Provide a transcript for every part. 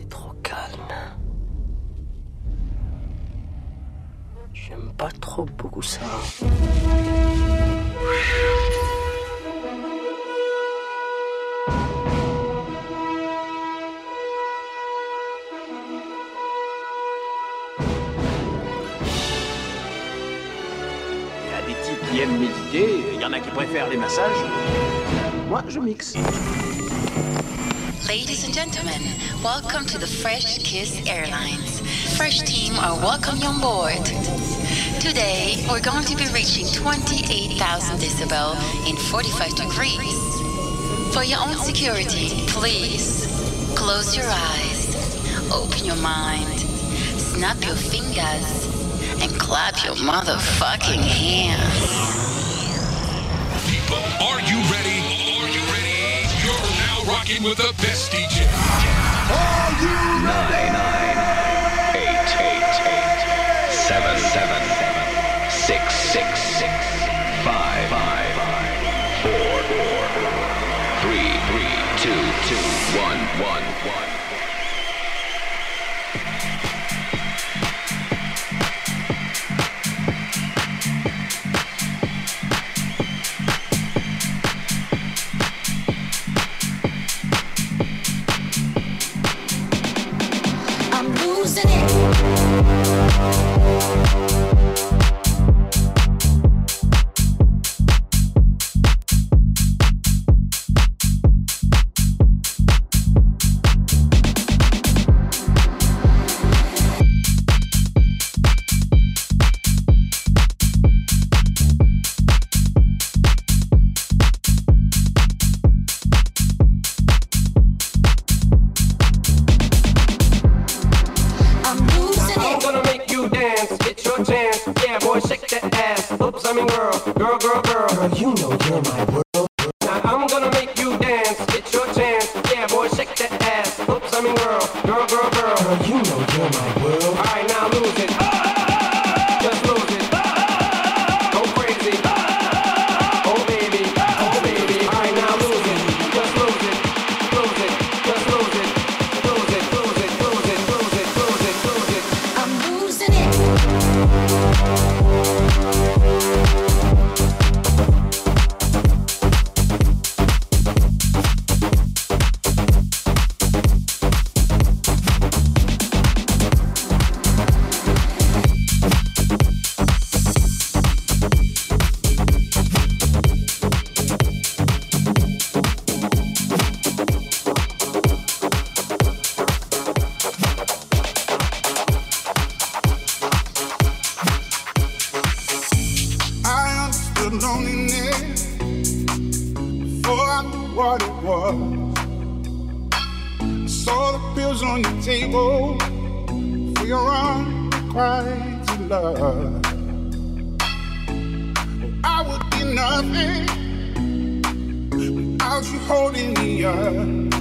trop calme. J'aime pas trop beaucoup ça. Il y a des types qui aiment méditer, il y en a qui préfèrent les massages. Moi, je mixe. Ladies and gentlemen, welcome to the Fresh Kiss Airlines. Fresh team are welcome on board. Today, we're going to be reaching 28,000 decibel in 45 degrees. For your own security, please close your eyes, open your mind, snap your fingers, and clap your motherfucking hands. People, are you ready? Are you ready? You're now rocking with the best DJ. Are you ready? 9, 8, 7, 6, 5, 4, 3, 2, 1. I'm losing it. I'm losing I'm it. gonna make you dance, it's your chance. Yeah, boy, shake that ass. Oops, I mean girl. Girl, you know you're my world. Now I'm gonna make you dance, it's your chance. Yeah, boy, shake that ass. Oops, I mean girl. Girl, you know you're my world. All right, now lose it. Just lose it. Go crazy. Oh baby. All right, now lose it. Just lose it. Lose it. Just lose it. Lose it. Lose it. Lose it. Lose it. Lose it. Lose it. I'm losing it. I understood loneliness before I knew what it was. I saw the pills on your table for your unrequited love. I would be nothing without you holding me up.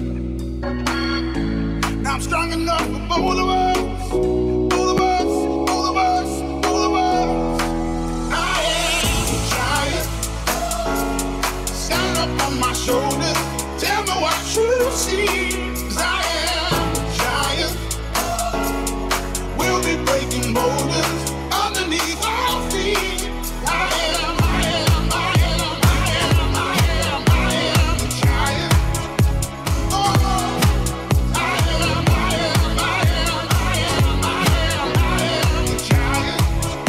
Now I'm strong enough for both of us. Both of us. Both of us. Both of us. I am a giant. Stand up on my shoulders. Tell me what you see. 'Cause I am a giant. We'll be breaking boulders underneath our feet. I am a giant. Oh, I am a giant.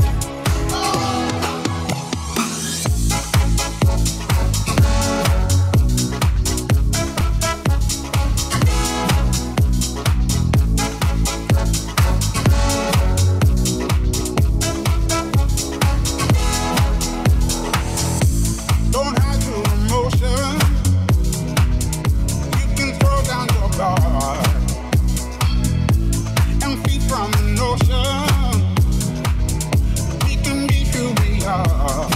Don't hide your emotion. You can throw down your guard and feed from the notion. We can be who we are.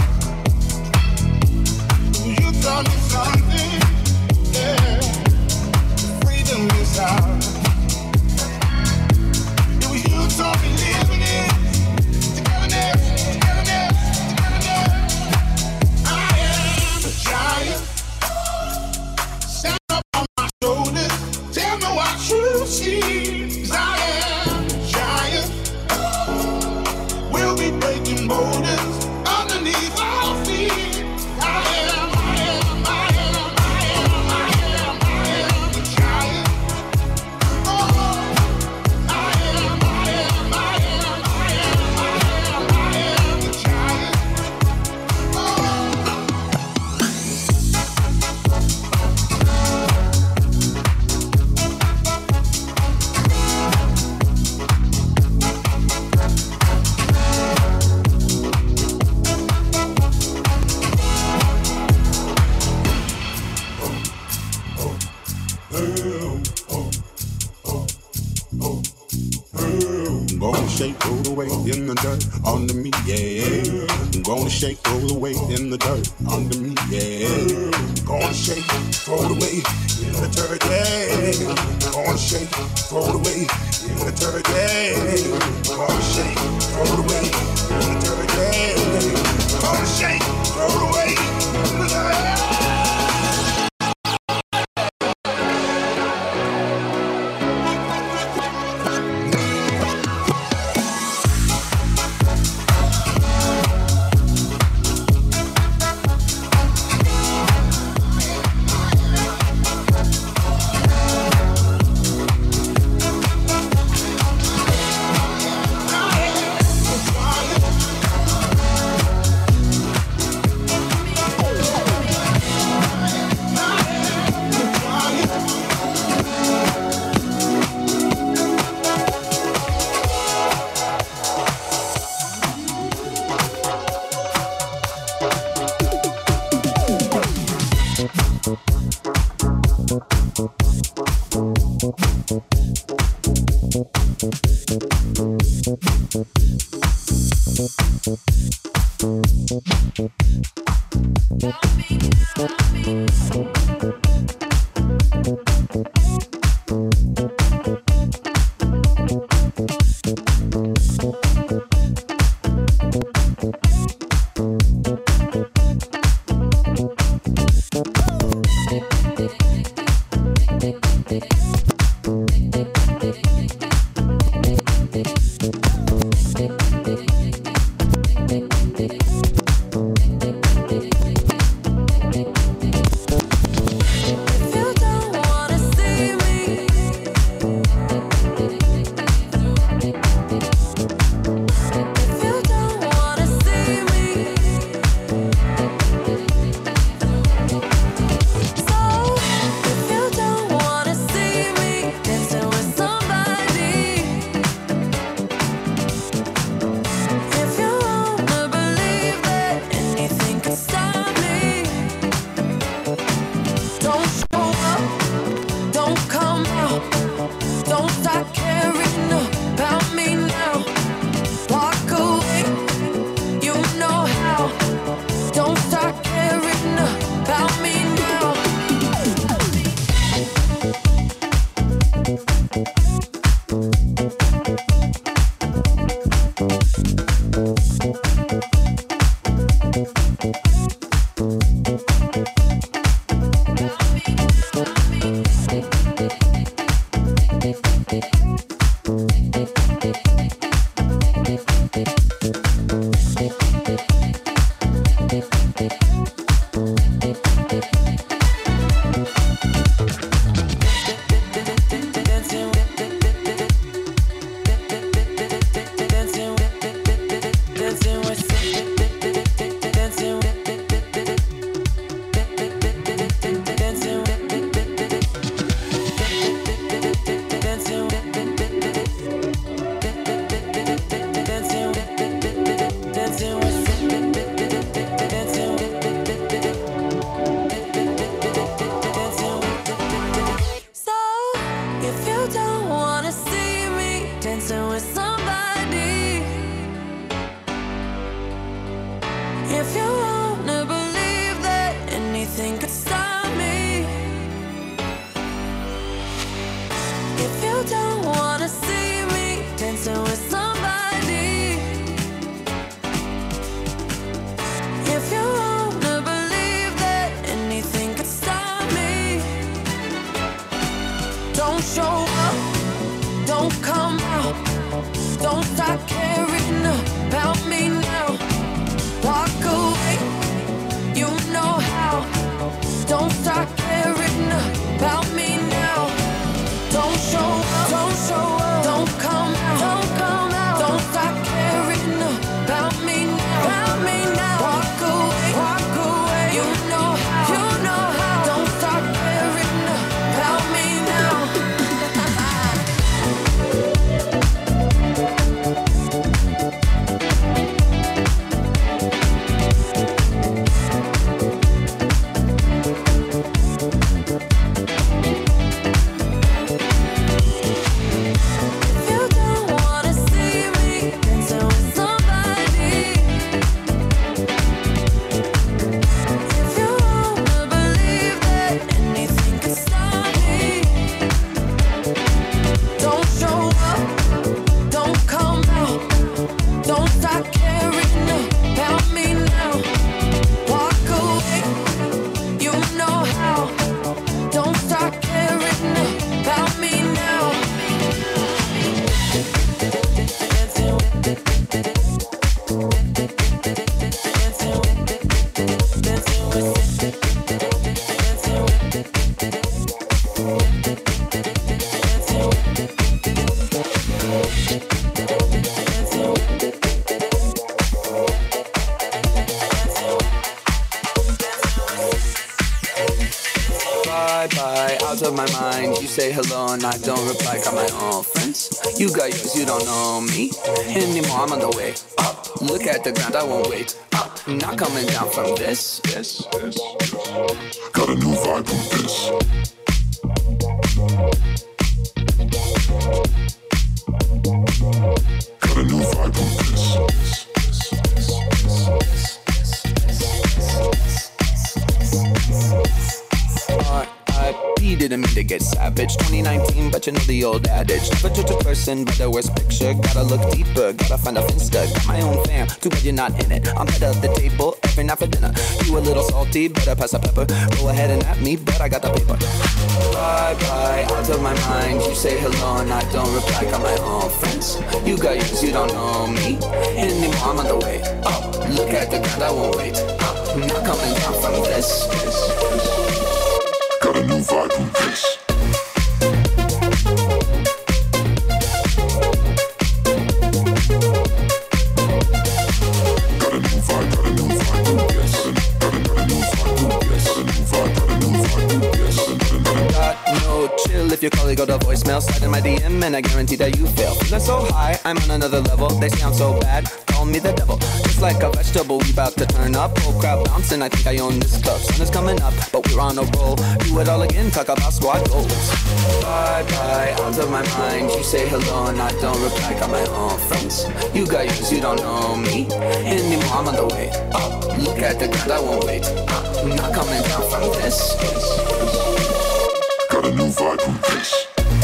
You taught me something, yeah. Freedom is ours. It was you taught me living it. Togetherness. I am a giant. Stand up on my shoulders. Tell me what you see. away in the dirt under me, yeah. I'm gonna shake, throw it away in the dirt under me, yeah. Gonna shake, throw it away in the dirt, yeah. Gonna shake, throw it away in the dirt, yeah. Gonna shake, throw it away in the dirt, yeah. Gonna shake, throw it away in the dirt. Bye, out of my mind. You say hello and I don't reply. Got my own friends. You got yours, you don't know me anymore. I'm on the way up. Look at the ground, I won't wait up. Not coming down from this. Got a new vibe from this. Got a new vibe from this. R.I.P. didn't mean to get savage. 2019, but you know the old adage. Never judge a person by the worst picture. Gotta look deeper, gotta find a finsta. Got my own fam, too bad you're not in it. I'm head of the table every night for dinner. You a little salty, better pass the pepper. Go ahead and at me, but I got the paper. Bye, out of my mind. You say hello and I don't reply. Got my own friends. You got yours, you don't know me anymore. I'm on the way up. Look at the ground, I won't wait up. Not coming down from this. Got a new vibe from this. Got a new vibe from this. Got a new vibe from this. Got no chill if your colleague got a voicemail. Slide in my DM and I guarantee that you fail. Feeling so high, I'm on another level. They sound so bad, call me the devil. Just like a vegetable, we bout to turn up. Whole crowd bouncing, I think I own this club. Sun is coming up, but we're on a roll. Do it all again, talk about squad goals. Bye, out of my mind. You say hello and I don't reply. Got my own friends. You got yours, you don't know me anymore. I'm on the way up. Look at the ground, I won't wait up. Not coming down from this. Got a new vibe from this.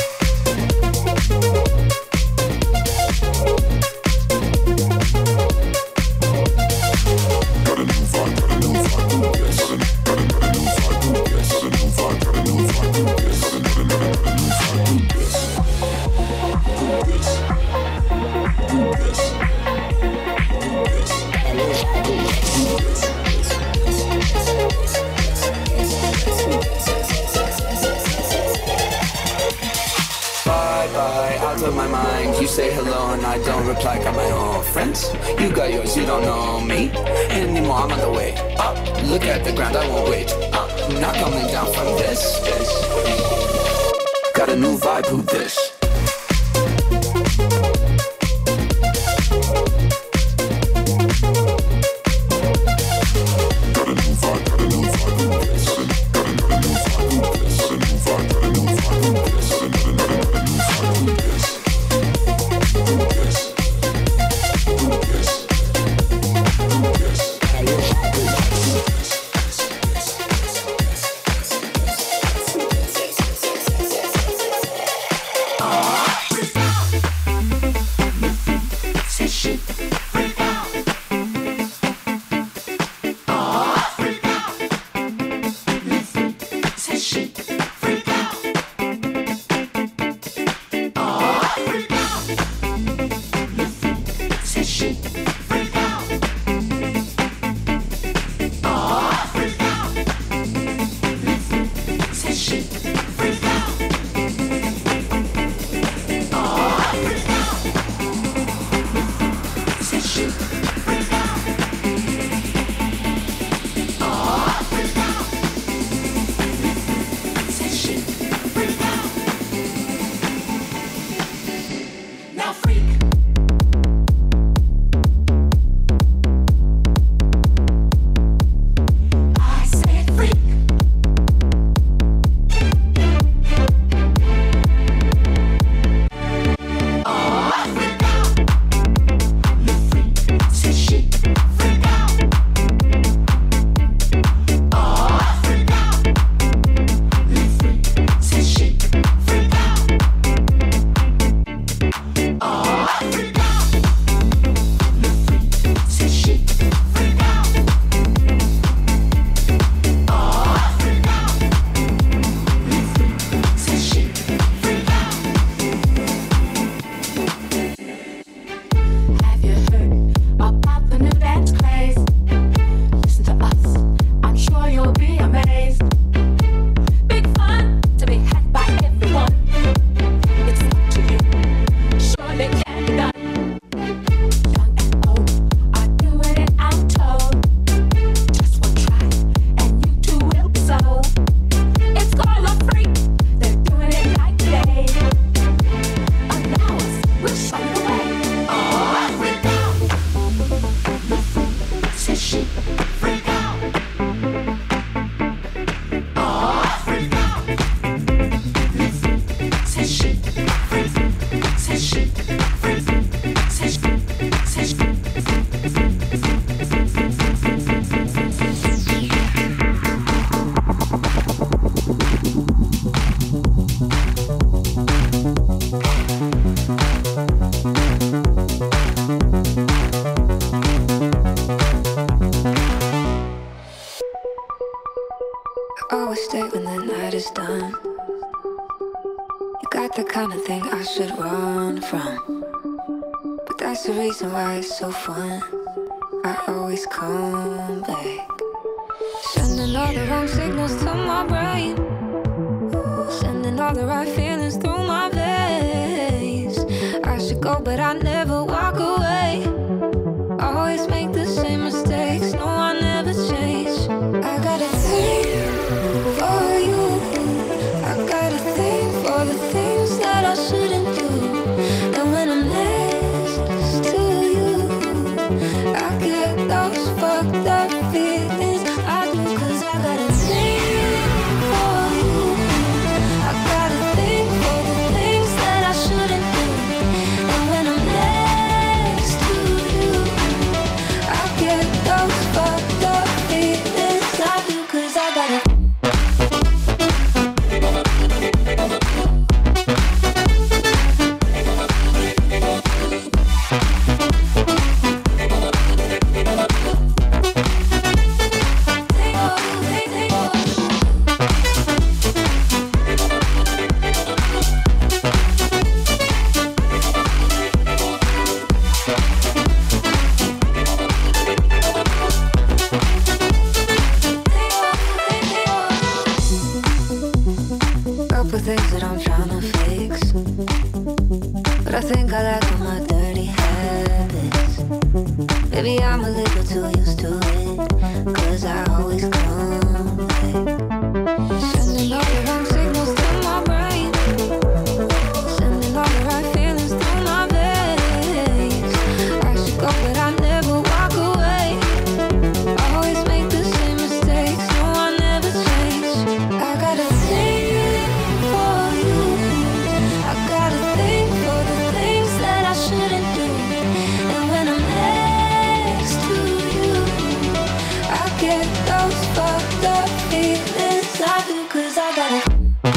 Out of my mind, you say hello and I don't reply. Got my own friends. You got yours, you don't know me anymore. I'm on the way up. Look at the ground, I won't wait up. Not coming down from this. Got a new vibe, who this? always stay when the night is done. You got the kind of thing I should run from, but that's the reason why it's so fun. I always come back, sending all the wrong signals to my brain, sending all the right feelings through my veins. I should go, but I never walk away. Always make the same mistakes, no, I never change. I got a thing for you, I got a thing for the things that I shouldn't do. And when I'm next to you, I get those fucked up feelings I do, 'cause I got a thing for you. I got a thing for the things that I shouldn't do. And when I'm next to you, I get those fucked up feelings I do, 'cause I got a things that I'm trying to fix, but I think I like all my dirty habits. Maybe I'm a little too used to it, 'cause I always come back, sending all the wrong signals to my brain, sending all the right feelings through my veins. I should go, but I never walk away. Always make the same mistakes, no, I never change. I got a thing for you, I got a thing for the things that I shouldn't do. And when I'm next to you, I get those fucked up feelings I do, 'cause I got it.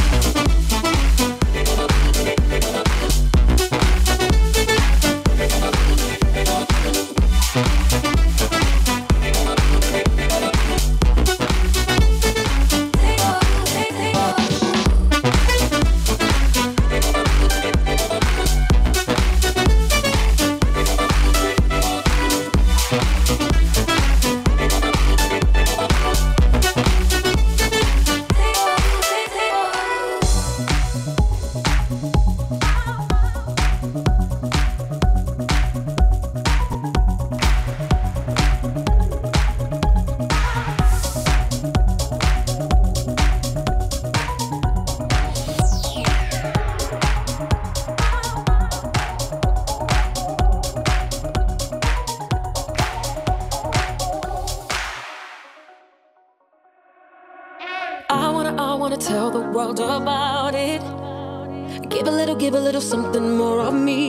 I wanna tell the world about it. Give a little something more of me.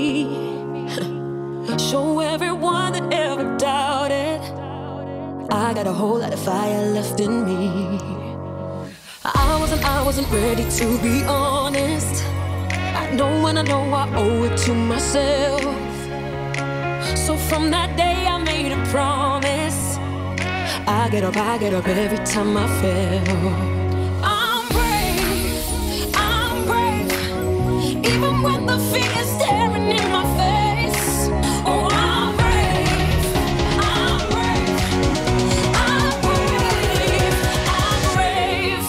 Show everyone that ever doubted I got a whole lot of fire left in me. I wasn't ready, to be honest. I know when I know I owe it to myself. So from that day I made a promise. I get up every time I fail. Even when the fear is staring in my face. Oh, I'm brave, I'm brave, I'm brave, I'm brave.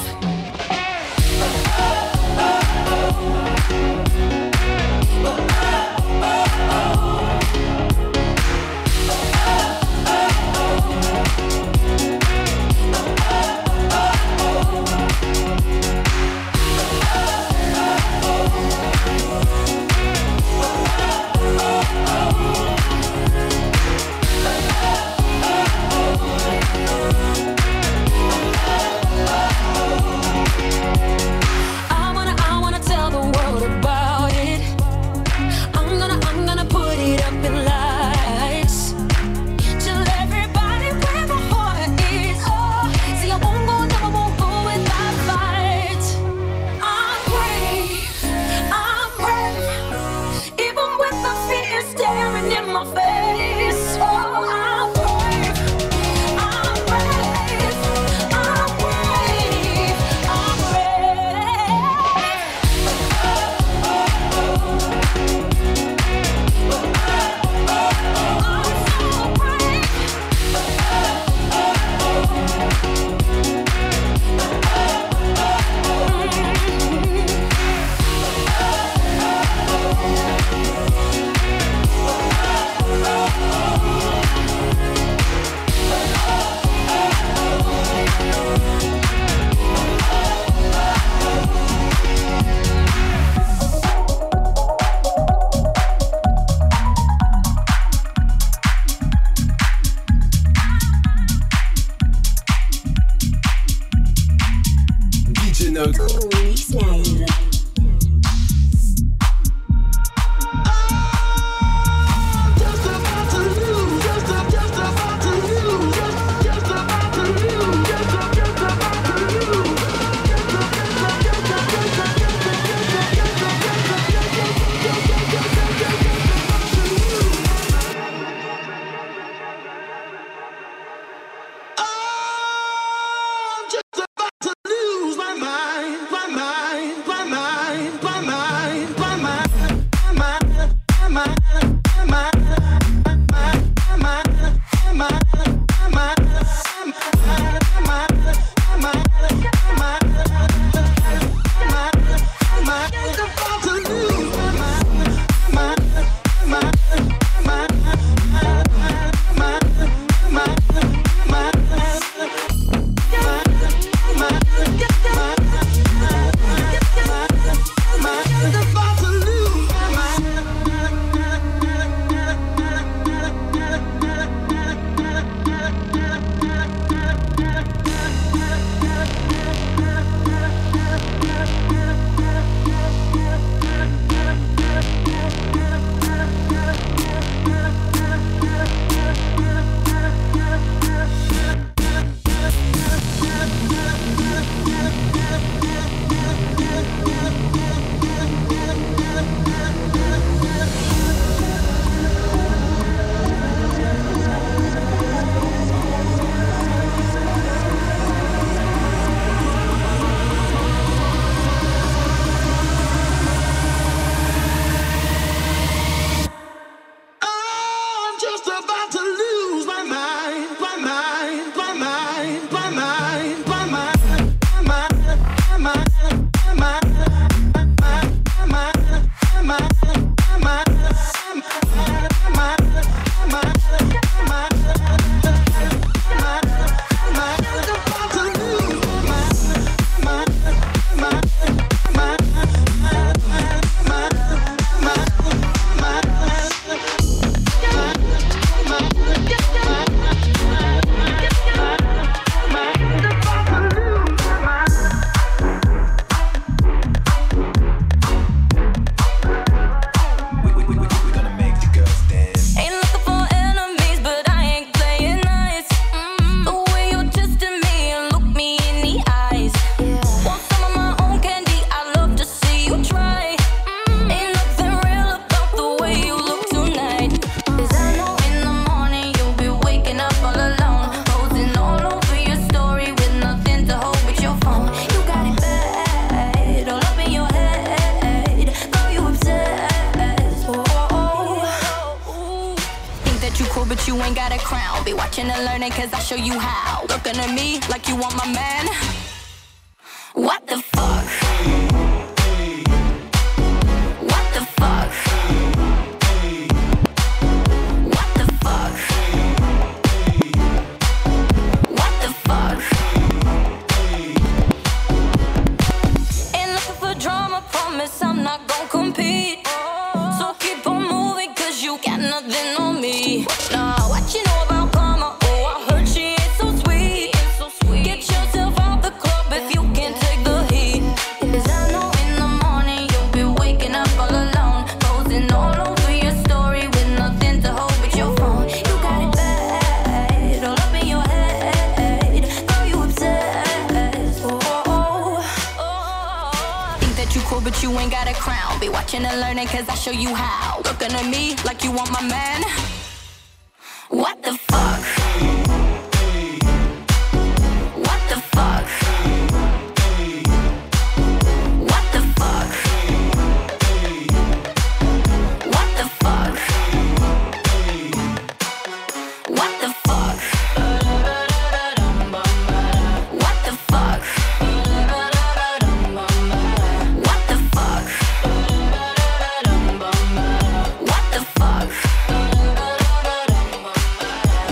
DJ Nox. Cause I show you how. Looking at me like you want my man. What the fuck? What the fuck? What the fuck? What the fuck? Ain't looking for drama, promise I'm not gon' compete. So keep on moving cause you got nothing on me. Nah, what you know about karma? But you ain't got a crown. Be watching and learning cause I show you how. Looking at me like you want my man. What the fuck? What the fuck? What the fuck? What the fuck? What the fuck? What the fuck? What the fuck?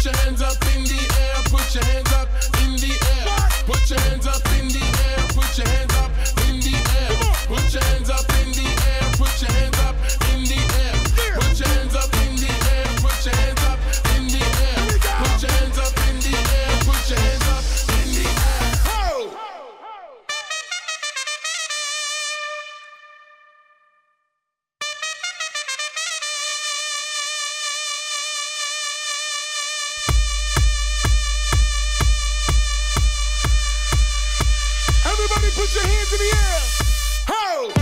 Put your hands up in the air. Put your hands up in the air. Put your hands up in the air. Put your hands up in the air. Put your hands up in the air. Put your hands up in the air. Put your hands up in the air. Put your hands up in the air. Put your hands up in the air. Put your hands up in the air. Ho! Everybody put your hands in the air. Ho!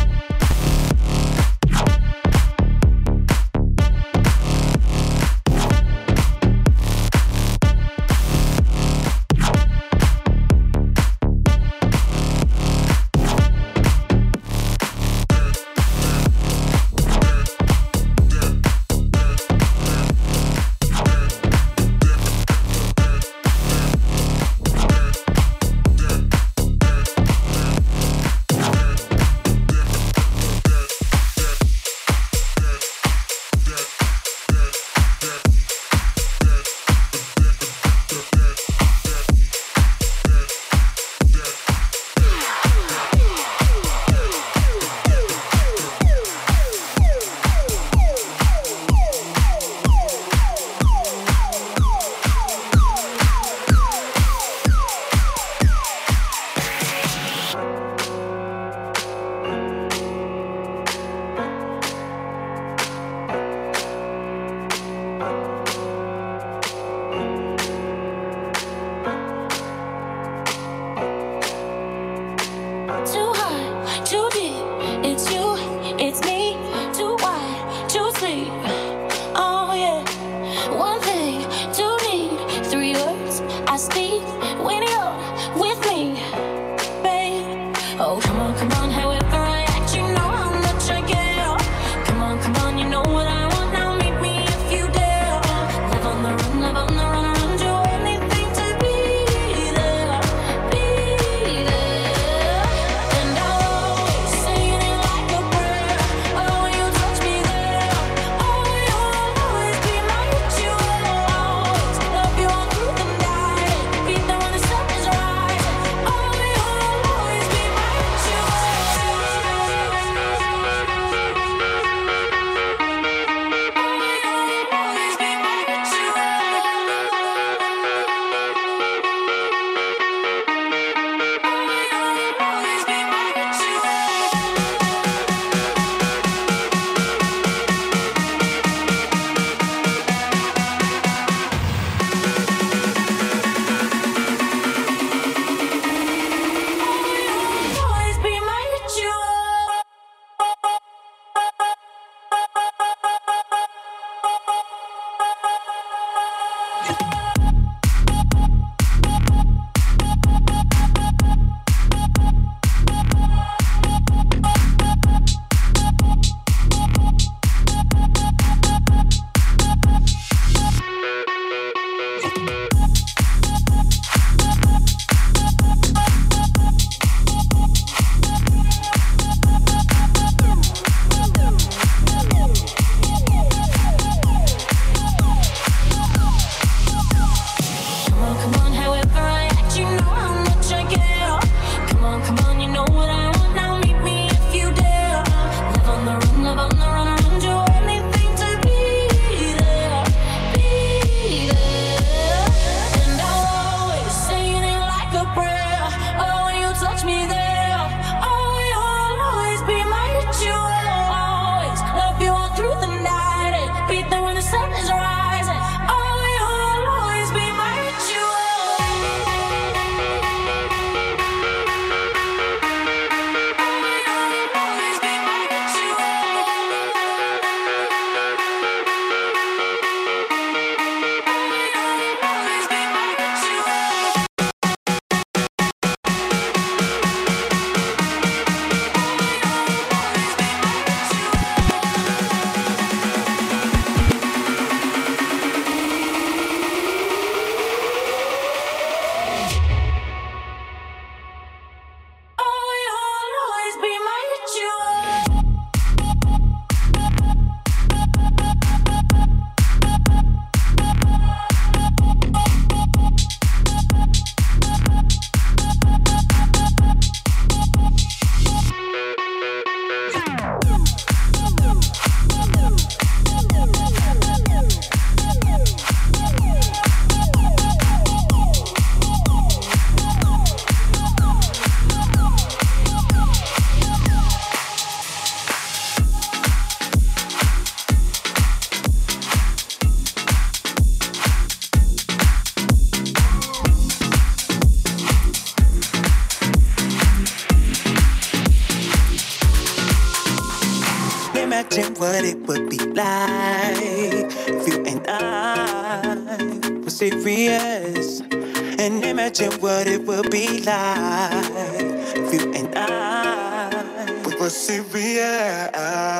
Imagine what it would be like if you and I were serious. And imagine what it would be like if you and I were serious.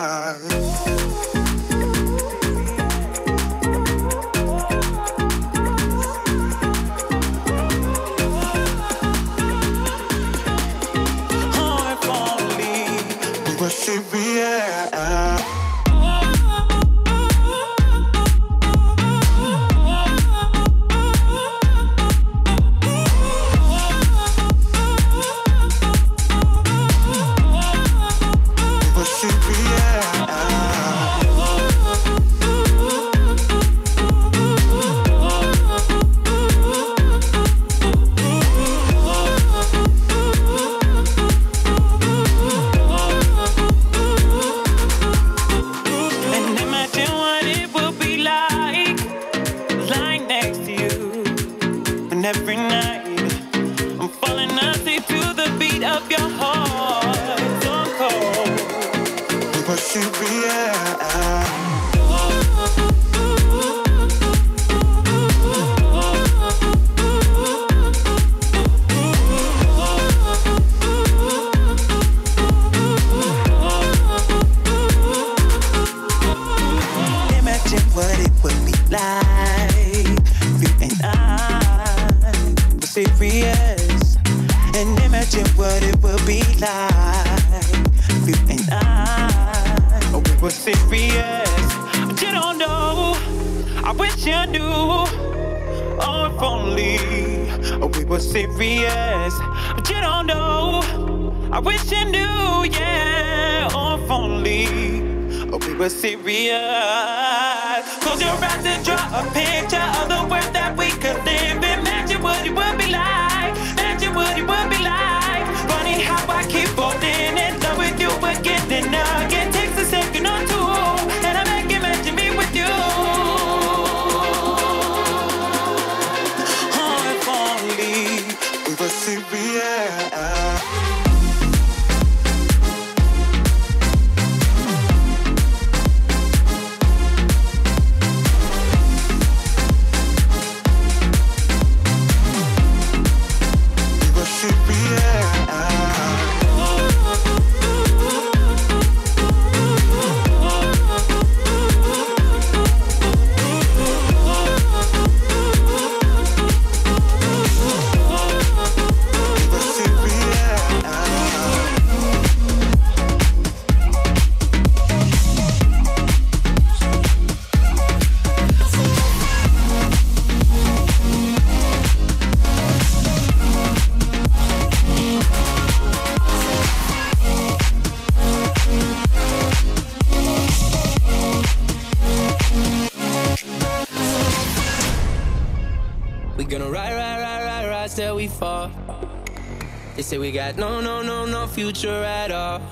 They say we got no future at all.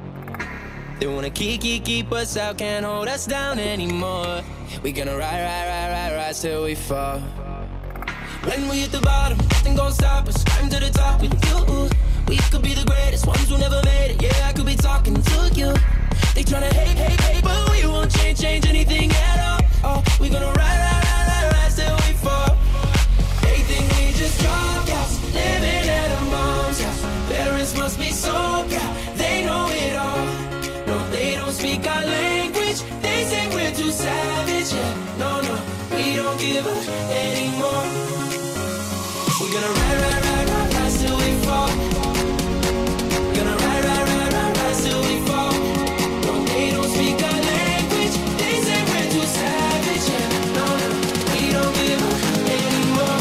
They wanna keep us out, can't hold us down anymore. We gonna rise till we fall. When we hit the bottom, nothing gon' stop us. Climb to the top with you. We could be the greatest ones who never made it. Yeah, I could be talking to you. They tryna hate, but we won't change anything at all. Oh, we gonna rise till we fall. They think we just dropped out, living at a mom's house. Parents must be so proud, they know it all. No, they don't speak our language, they say we're too savage. Yeah, no, we don't give up anymore. We're gonna rise till we fall. We're gonna rise till we fall. No, they don't speak our language, they say we're too savage. Yeah, no, we don't give up anymore.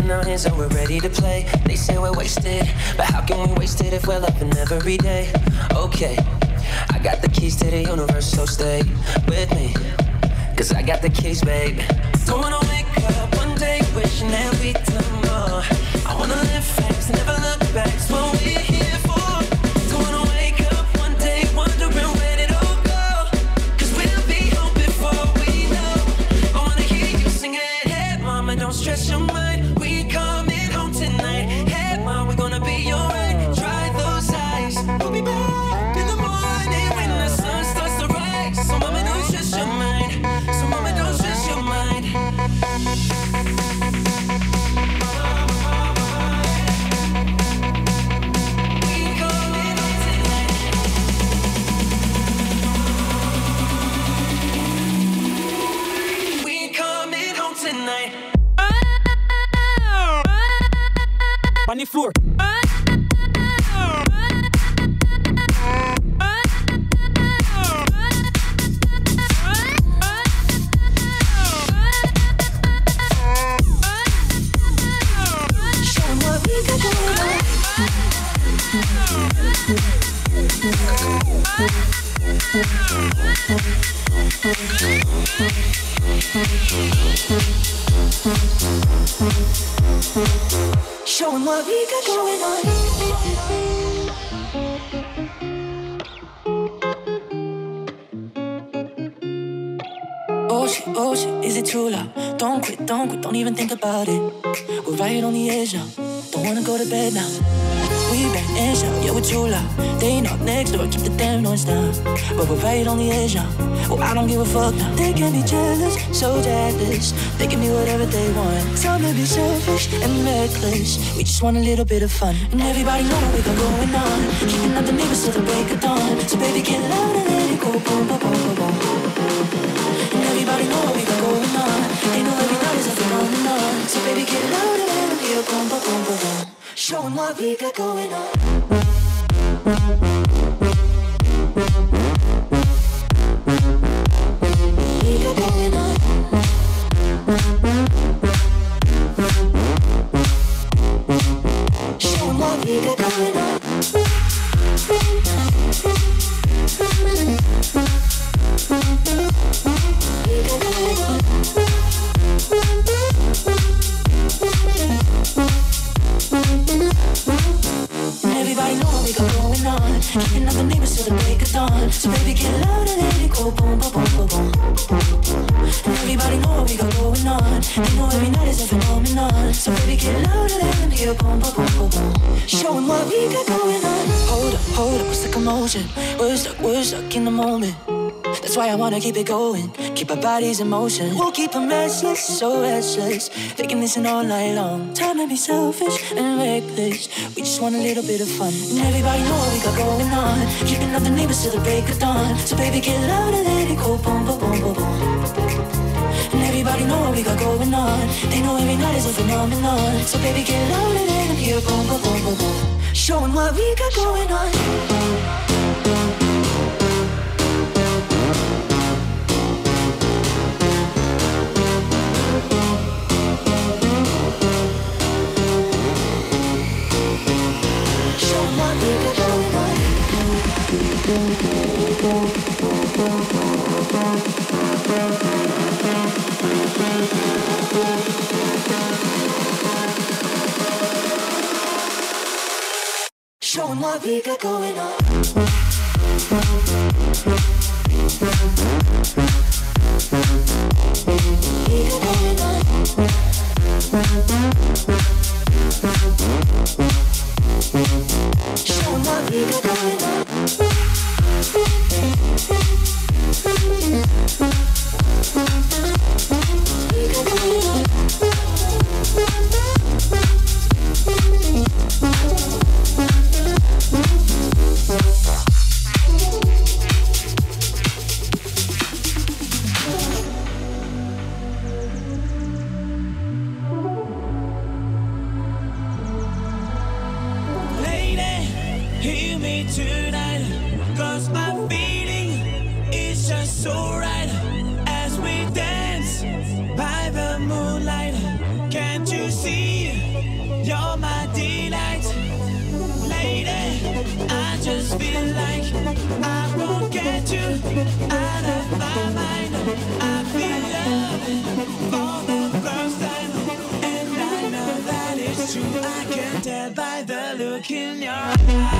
in our hands and we're ready to play. They say we're wasted, but how can we waste it if we're loving every day? Okay, I got the keys to the universe, so stay with me, 'cause I got the keys, babe. Don't wanna wake up one day wishing that we'd done more. I wanna live fast and never look back. It's what we're here for. Don't wanna wake up one day wondering where it all go, 'cause we'll be home before we know. I wanna hear you sing it. Hey mama, don't stress your mind, we coming home tonight. Hey mom, we're gonna be alright. Dry those eyes, we'll be back in the morning when the sun starts to rise. So mama, don't stress your mind. So mama, don't stress your mind. On the floor. Showing what we got going on. Oh shit, is it too loud? Don't quit, don't even think about it. We're right on the edge now, don't wanna go to bed now. We bang and shout, yeah, we're too loud. They knock next door, keep the damn noise down. But we're right on the edge now, oh, I don't give a fuck now. They can be jealous, so jealous. They can be whatever they want. Some may be selfish and reckless. We just want a little bit of fun. And everybody know what we got going on. Keeping up the neighbors till the break of dawn. So baby, get loud and let it go, boom, boom, boom, boom, boom. And everybody know what we got going on. They know every night is a phenomenon. So baby, get loud and let it hear, boom, boom, boom, boom, boom. Showing what we got going on. We got going on. Showing what we got going on. We got going on. Everybody know what we got going on. Keeping up the neighbors till the break of dawn. So baby, get loud and let it go, boom, boom, boom, boom, boom. And everybody know what we got going on. They know every night is a phenomenon. So baby, get loud and let them hear, boom, boom, boom, boom, boom. Showing what we got going on. Hold up, what's the commotion? We're stuck in the moment. That's why I wanna keep it going. Keep our bodies in motion. We'll keep them restless, so restless. They can listen all night long. Time to be selfish and reckless. We just want a little bit of fun. And everybody know what we got going on. Keeping up the neighbors till the break of dawn. So baby, get loud and let it go, boom, boom, boom, boom, boom. And everybody know what we got going on. They know every night is a phenomenon. So baby, get loud and let them hear, boom, boom, boom, boom, boom. Showing what we got going on. Showing what we got going on. We got going on. Showing what we got going on. We got going on. just feel like I won't get you out of my mind. I feel loving for the first time, and I know that it's true. I can tell by the look in your eyes.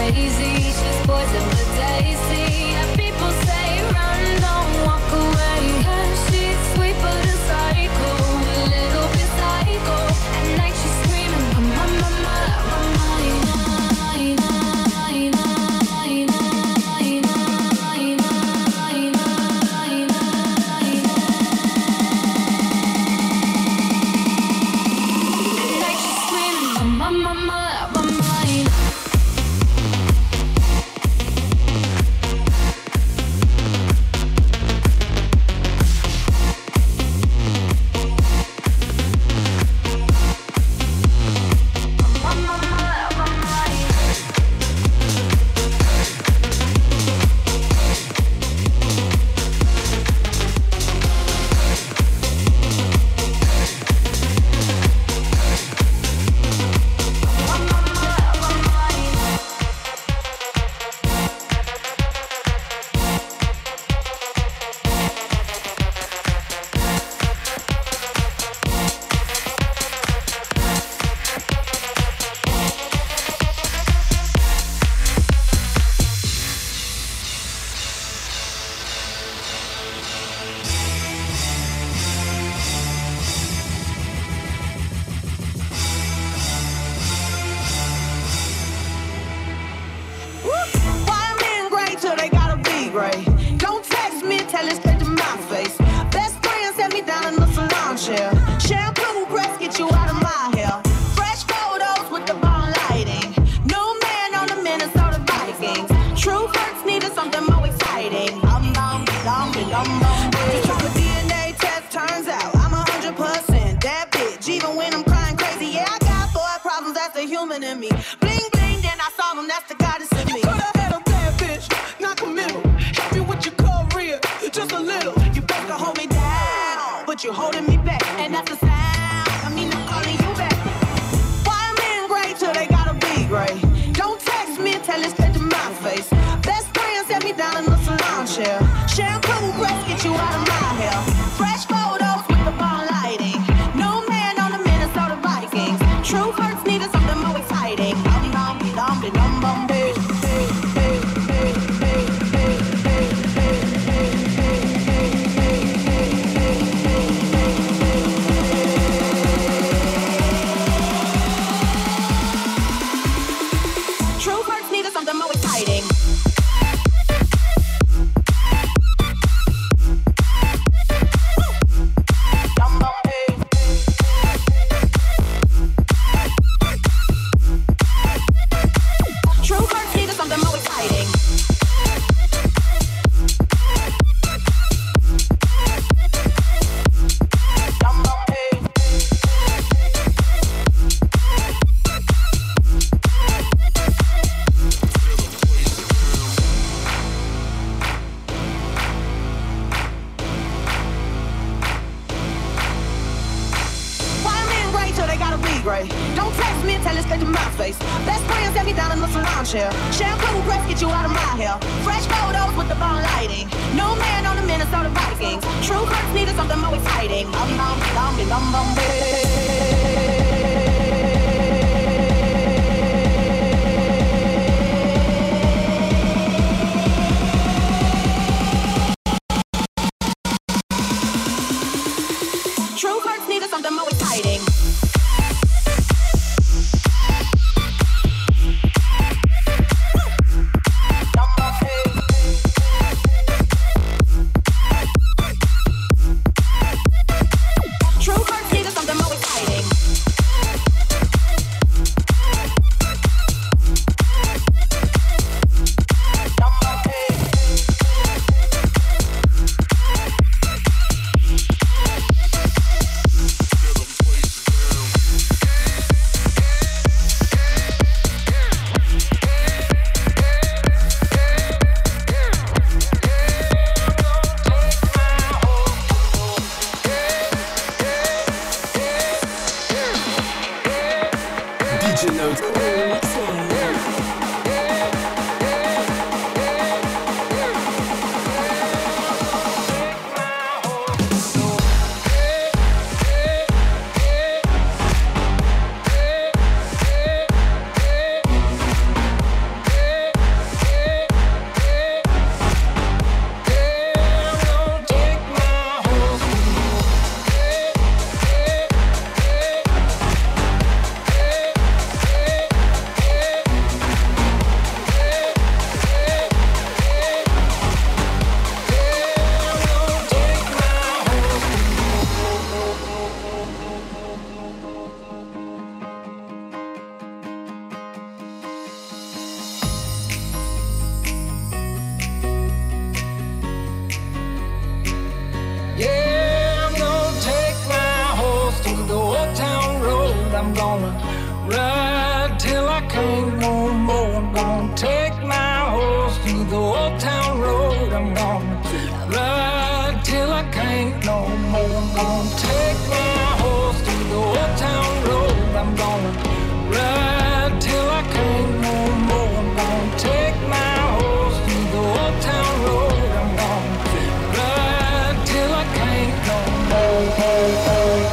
crazy. She's poison but tasty. And people say run, don't walk away. 'Cause she's sweet but a psycho, a little bit psycho. At night she's screaming, my True hearts need something more exciting. gonna take my horse through the old town road. I'm gonna ride till I can't no more. I'm gonna take my horse through the old town road. I'm gonna ride till I can't no more. I'm gonna take my horse through the old town road. I'm gonna ride till I can't no more.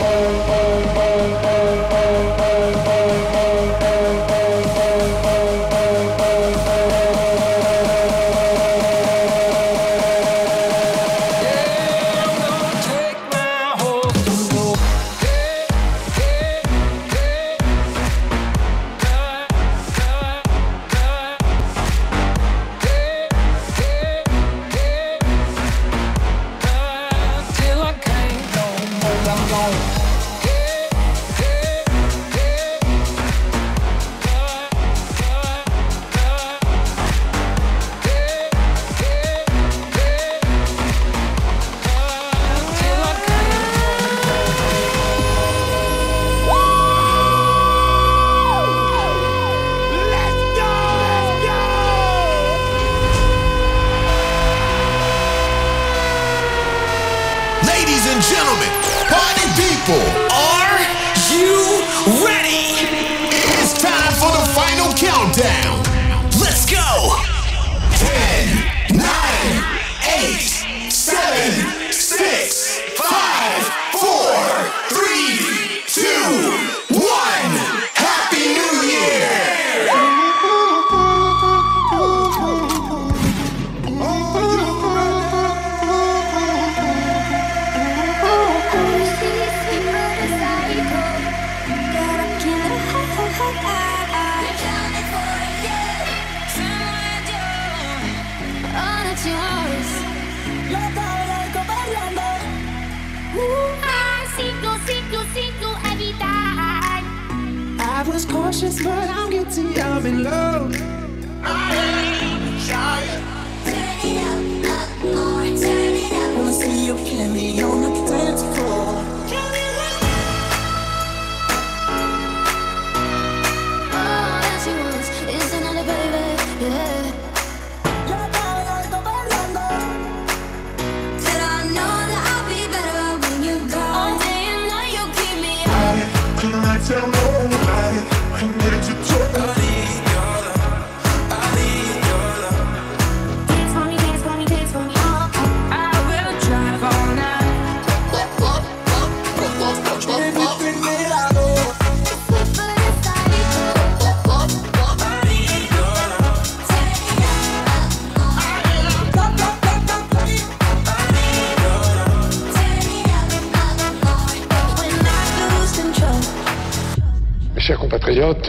Chers compatriotes,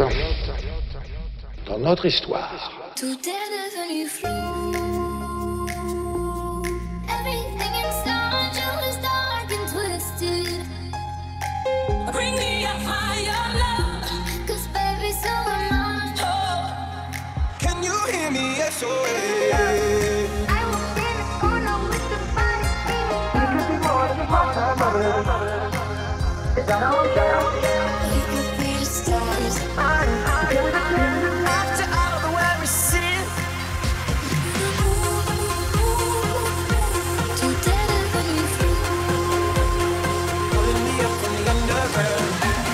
dans notre histoire, tout est devenu flou. Everything inside you is dark and twisted. Bring me a higher love, 'cause baby, so am I. Oh. Can you hear me? SOS. I will be in the corner with the body, baby. You could be more than is that okay? After all the way we sin, tout est devenu flou. pulling me up from the underground.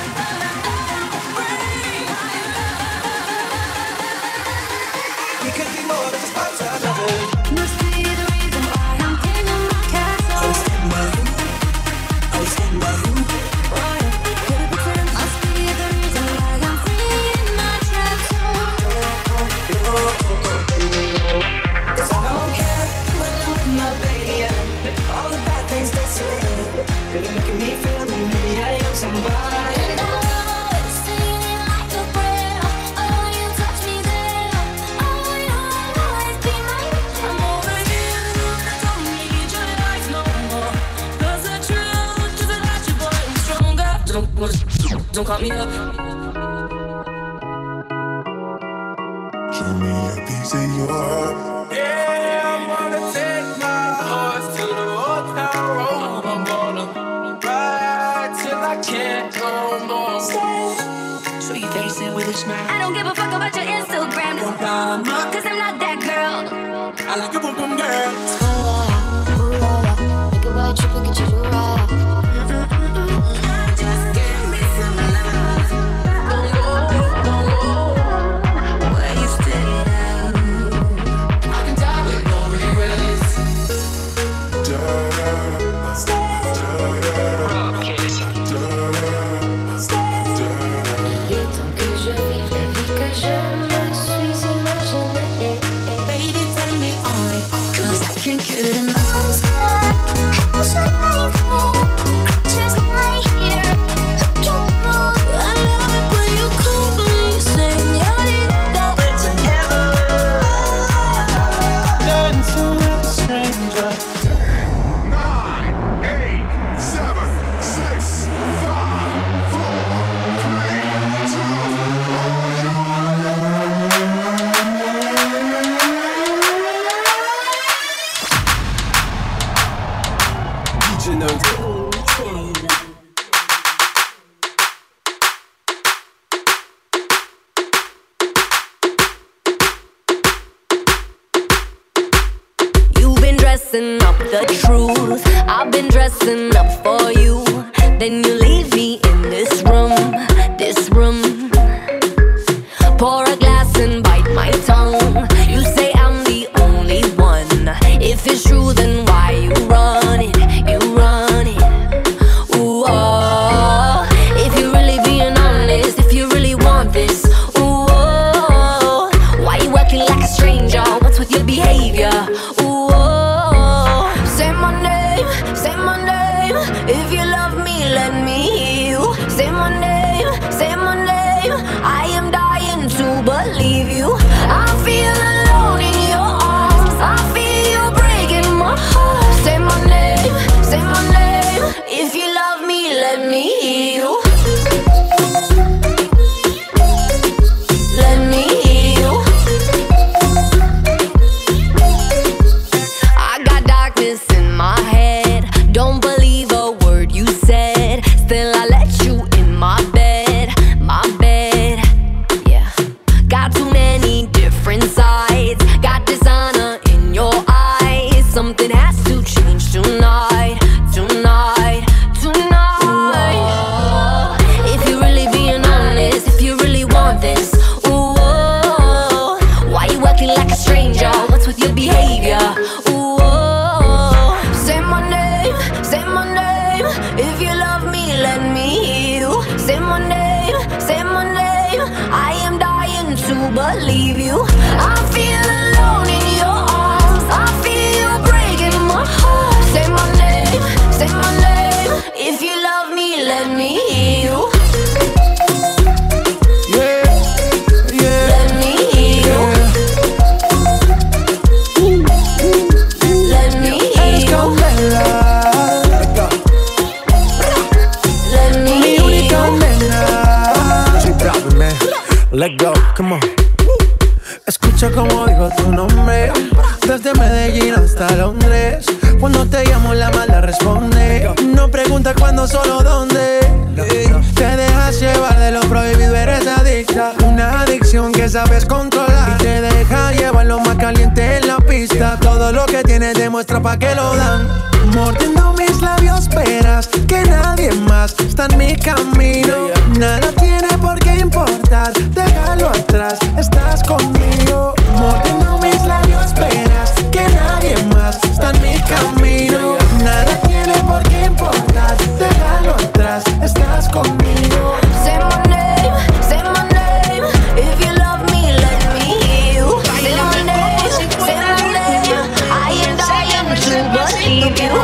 We could be more than just parts of lovers. Must be the reason why I'm king of my castle. I was in my room. I was in my room. Must be the reason why I'm free in my trap zone. 'Cause I don't care when I'm with my baby. All the bad things they say. They look at me, feel me, maybe I am somebody. And I know it's singing like a prayer. Oh, you touch me there. Oh, you'll always be mine. I'm over you. Don't need your life no more. 'Cause the truth is that you're boy and stronger. Don't call me up. Show me a piece of your heart. Yeah, I'm gonna take my horse to the old town road. I'm gonna ride till I can't no more. Show your face in with a smile. I don't give a fuck about your Instagram. Don't buy my Cause I'm not that girl. I like a boom boom girl. Make a white trip and get you to ride. Just give me some love. Where you stay now? I can die with no regrets. Baby, tell me on it, 'cause I can't get enough. Just right here. I love it when you call me, señorita. We're together. Dancing with a stranger. 9, 8, 7, 6, 5, 4, 3, 2, DJ Note. You've been dressing up the truth. I've been dressing up for you. Then you leave me in this room, this room. Pour a glass and bite my tongue. You say I'm the only one. If it's true, then why you run it? You run it. Ooh, oh. If you're really being honest, if you really want this, ooh, oh. Why you acting like a stranger? What's with your behavior? Ooh, oh. Say my name, say my name. If you love me, let me hear you. Say my name, say my name. I am dying to believe you. I feel alone in your arms. I feel you breaking my heart. Say my name, say my name. If you love me, let me hear you. Let me hear you. I got darkness in my head. Don't believe a word you said. Still I let you in my bed, my bed. Yeah. Got too many different sides. Got dishonor in your eyes. Something has to change tonight, tonight, tonight. Ooh, if you're really being honest, if you really want this, ooh, oh. Why you acting like a stranger? What's with your behavior? Ooh, oh. Say my name, say my name. If you love me, let me hear you. Say my name, say my name. I am dying to believe you. I feel alone in your arms. I feel you breaking my heart. Say my name, say my name. If you love me, let me hear you. Yeah, yeah. Let me hear you. Let me hear you. Let me hear you. Let go, come on. Escucha como digo tu nombre. Desde Medellín hasta Londres. Cuando te llamo la mala responde. No pregunta cuándo, solo dónde. Te dejas llevar de lo prohibido, eres adicta. Una adicción que sabes controlar. Y te deja llevar lo más caliente en la pista. Todo lo que tienes demuestra pa' que lo dan. Mordiendo mis labios, esperas que nadie más está en mi camino. Nada tiene por qué importar, déjalo atrás, estás conmigo. Mordiendo mis labios, esperas que nadie más está en mi camino. Nada tiene por qué importar, déjalo atrás, estás conmigo. Say my name, say my name. If you love me, let me hear you. Say my name, say my name. I am dying to believe you.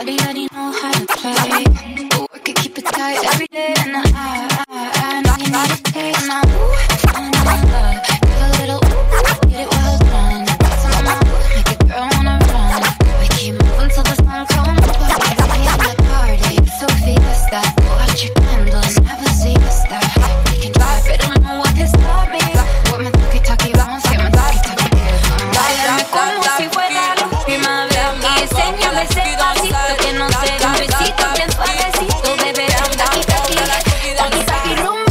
Shawty already know how to play. But work it, keep it tight every day. And I know you need a taste now. Give a little, get it well done. Some more, make a girl wanna run. We keep moving till the sun comes up. We in the party, so fiesta. Watch your candles, never see us there. We can drive it, I don't know what this stop me. What my talkie-talkie, vamos, que my talkie-talkie. Báilame como si fuera la última vez. Y enséñame ese pasito que no se da un besito bien suavecito, bebé. Taki-taki, taki-taki, rumba.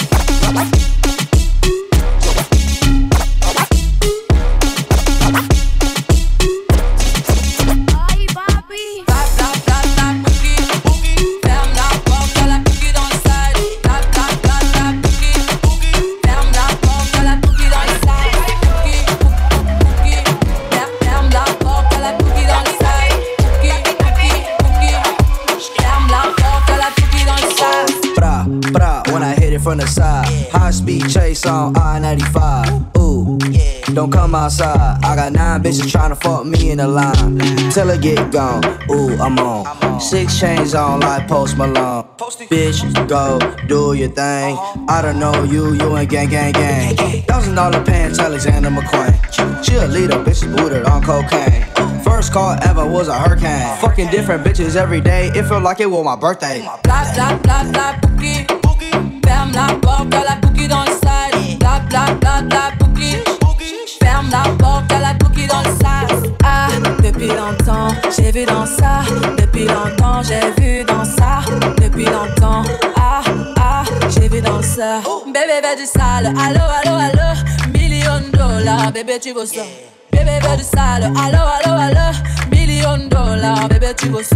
Ay, papi. Tap, tap, tap, tap, boogie, boogie. Ferme la porte, y'a la boogie dans le side. Tap, tap, tap, tap, boogie, boogie. Ferme la porte, y'a la boogie dans le side. Boogie, boogie, ferme la porte, y'a la boogie dans le side. Boogie, boogie, boogie. Ferme la porte, y'a la boogie dans le side. Bra, bra, when I hit it from the side. High speed chase on I-95. Ooh, don't come outside. I got 9 bitches tryna fuck me in the line. Till I get gone. Ooh, I'm on. 6 chains on like Post Malone. Bitch, go do your thing. I don't know you ain't gang, gang, gang. $1,000 pants, Alexander McQueen. Cheerleader, bitches booted on cocaine. First call ever was a hurricane. Fucking different bitches every day. It felt like it was my birthday. Bla bla bla bla boogie. Ferme la porte, y'a la boogie dans le side. Bla bla bla bla boogie. Ferme la porte, y'a la boogie dans le side. Ah, depuis longtemps, j'ai vu dans ça. Depuis longtemps, j'ai vu dans ça. Depuis longtemps, ah, ah, j'ai vu dans ça. Bébé veut du sale, allo, allo, allo. $1,000,000, bébé tu veux ça. Bébé veut du sale, allo, allo, allo. $1,000,000, bébé tu veux ça.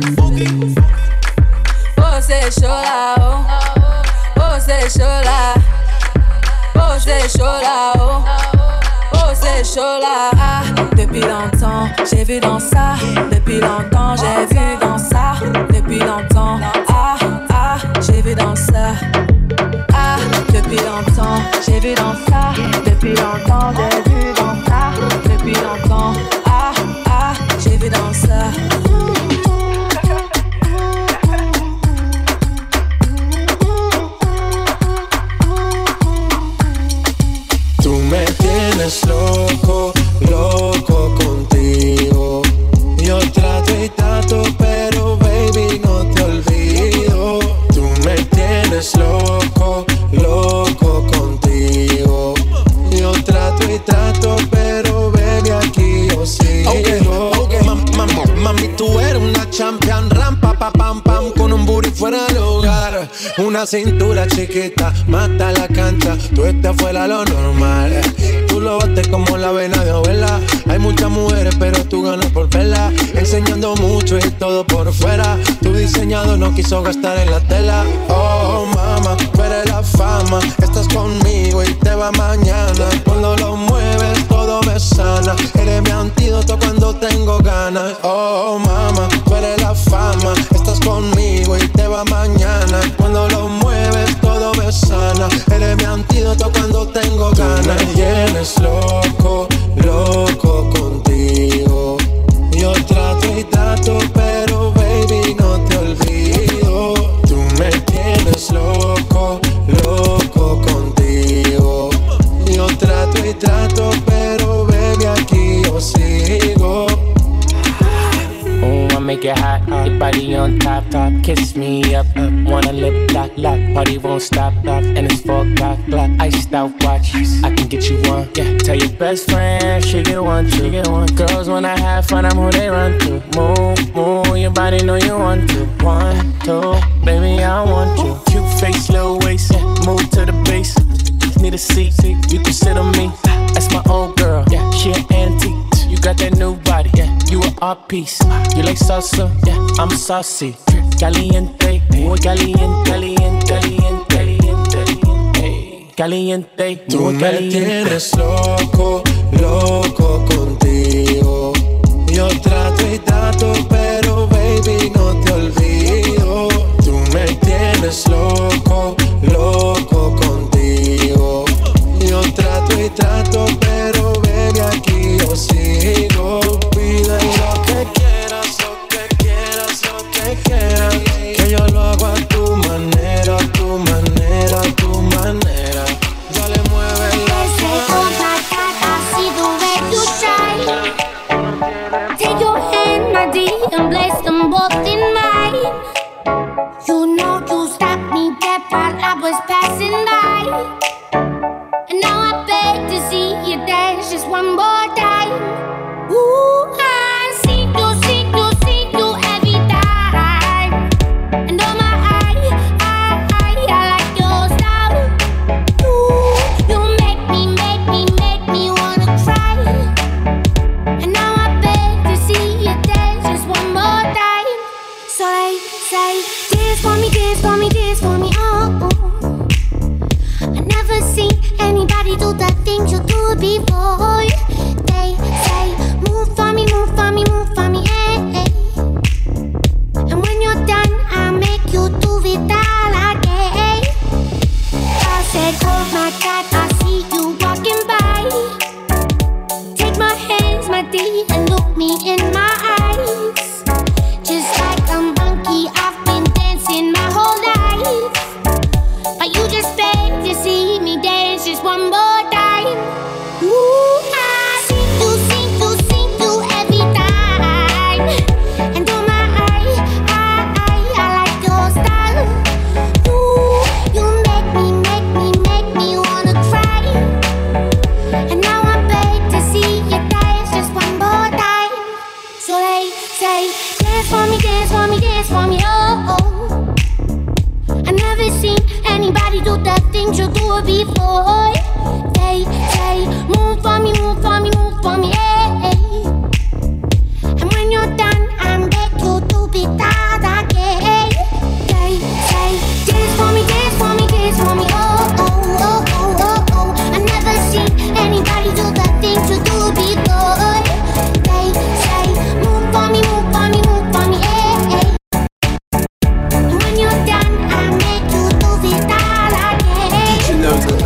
Oh c'est chaud là, oh. Oh c'est chaud là. Oh c'est chaud là, oh. Oh c'est chaud là. Ah, depuis longtemps, j'ai vu dans ça. Depuis longtemps, j'ai vu dans ça. Depuis longtemps, ah, ah, j'ai vu dans ça. Ah, depuis longtemps, j'ai vu dans ça. Depuis longtemps, j'ai vu dans ça. Depuis longtemps, ah, ah, j'ai vu dans ça. Tú me tienes loco, loco contigo. Yo trato y trato, pero baby no te olvido. Tú me tienes loco, loco contigo. Yo trato y trato, pero baby aquí yo sigo. Okay. Mami, tú eres una champion, rampa, pa, pam, pam, con un booty fuera del hogar. Una cintura chiquita, mata la cancha, tú estás fuera lo normal. Tú lo bates como la vena de abuela. Hay muchas mujeres, pero tú ganas por verla. Enseñando mucho y todo por fuera. Tu diseñador no quiso gastar en la tela. Oh, mama, tú eres la fama. Estás conmigo y te va mañana. Cuando lo mueves, todo me sana. Eres mi antídoto cuando tengo ganas. Oh, mama, tú eres la fama. Estás conmigo y te va mañana. Cuando lo mueves, todo me sana. Eres mi antídoto cuando tengo ganas. Tú me tienes loco, loco contigo. Yo trato y trato, pero baby no te olvido. Tú me tienes loco, loco contigo. Yo trato y trato, pero baby aquí yo sigo. Oh, I make it hot, your body on top, top. Kiss me up, wanna lip lock, lock. Party won't stop, and it's 4 o'clock, clock. Iced out watch, I can get you one. Yeah, tell your best friend she get one, she get one. Girls when I have fun, I'm who they run to. Move, move, your body know you want to. 1, 2, baby I want you. Cute face, little waist, yeah. Move to the base. Need a seat, you can sit on me. That's my old girl, yeah. She an antique. You got that new body, yeah. You an art piece. You like salsa, yeah. I'm saucy. Caliente, muy caliente, caliente, caliente, caliente, caliente. Tú me tienes loco, loco contigo. Yo trato y trato, pero baby no te olvido. Tú me tienes loco, loco contigo. Yo trato y trato, pero baby aquí yo sigo. Pide lo que quieras, time. Ooh, I see you every time. And oh my, I like your style. Ooh, you make me wanna cry. And now I beg to see you dance just one more time. So they say, dance for me, dance for me, dance for me, oh. I never seen anybody do the things you do before. They say, move for me, move for me, move for me, eh, eh. And when you're done, I'll make you do it all again. I said, oh my God, I see you walking by. Take my hands, my dear, and look me in my eyes. Just like a monkey, I've been dancing my whole life. But you just beg to see me dance just one more time. Ooh, I see you every time. And oh my, I like your style. Ooh, you make me wanna cry. And now I beg to see you dance just one more time. So they say, dance for me, dance for me, dance for me, oh, oh. I never seen anybody do the things you do before. They say, move for me, move for me, move for me, eh, eh. And when you're done, I make you do it all again. They say, dance for me, dance for me, dance for me, oh, oh, oh, oh, oh, oh. I never seen anybody do the things you do before. They say, move for me, move for me, move for me, eh, eh. And when you're done, I make you do it all again. You know that.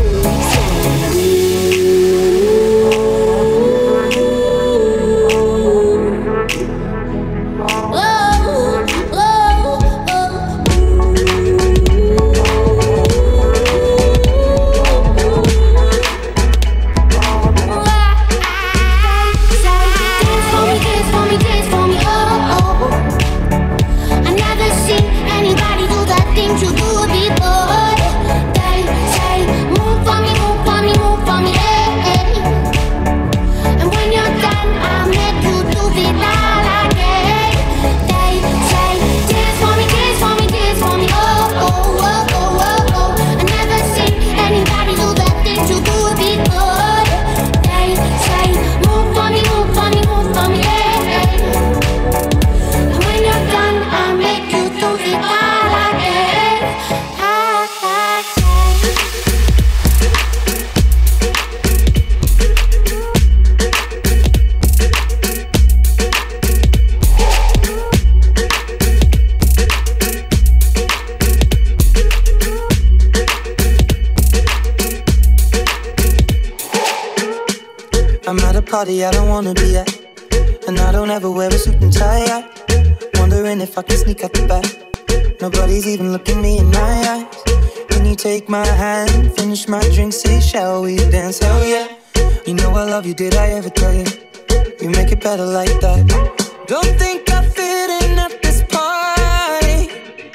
I'm at a party I don't wanna be at, and I don't ever wear a suit and tie. Wondering if I can sneak out the back. Nobody's even looking me in my eyes. Can you take my hand, finish my drink, say shall we dance? Hell yeah. You know I love you, did I ever tell you? You make it better like that. Don't think I fit in at this party.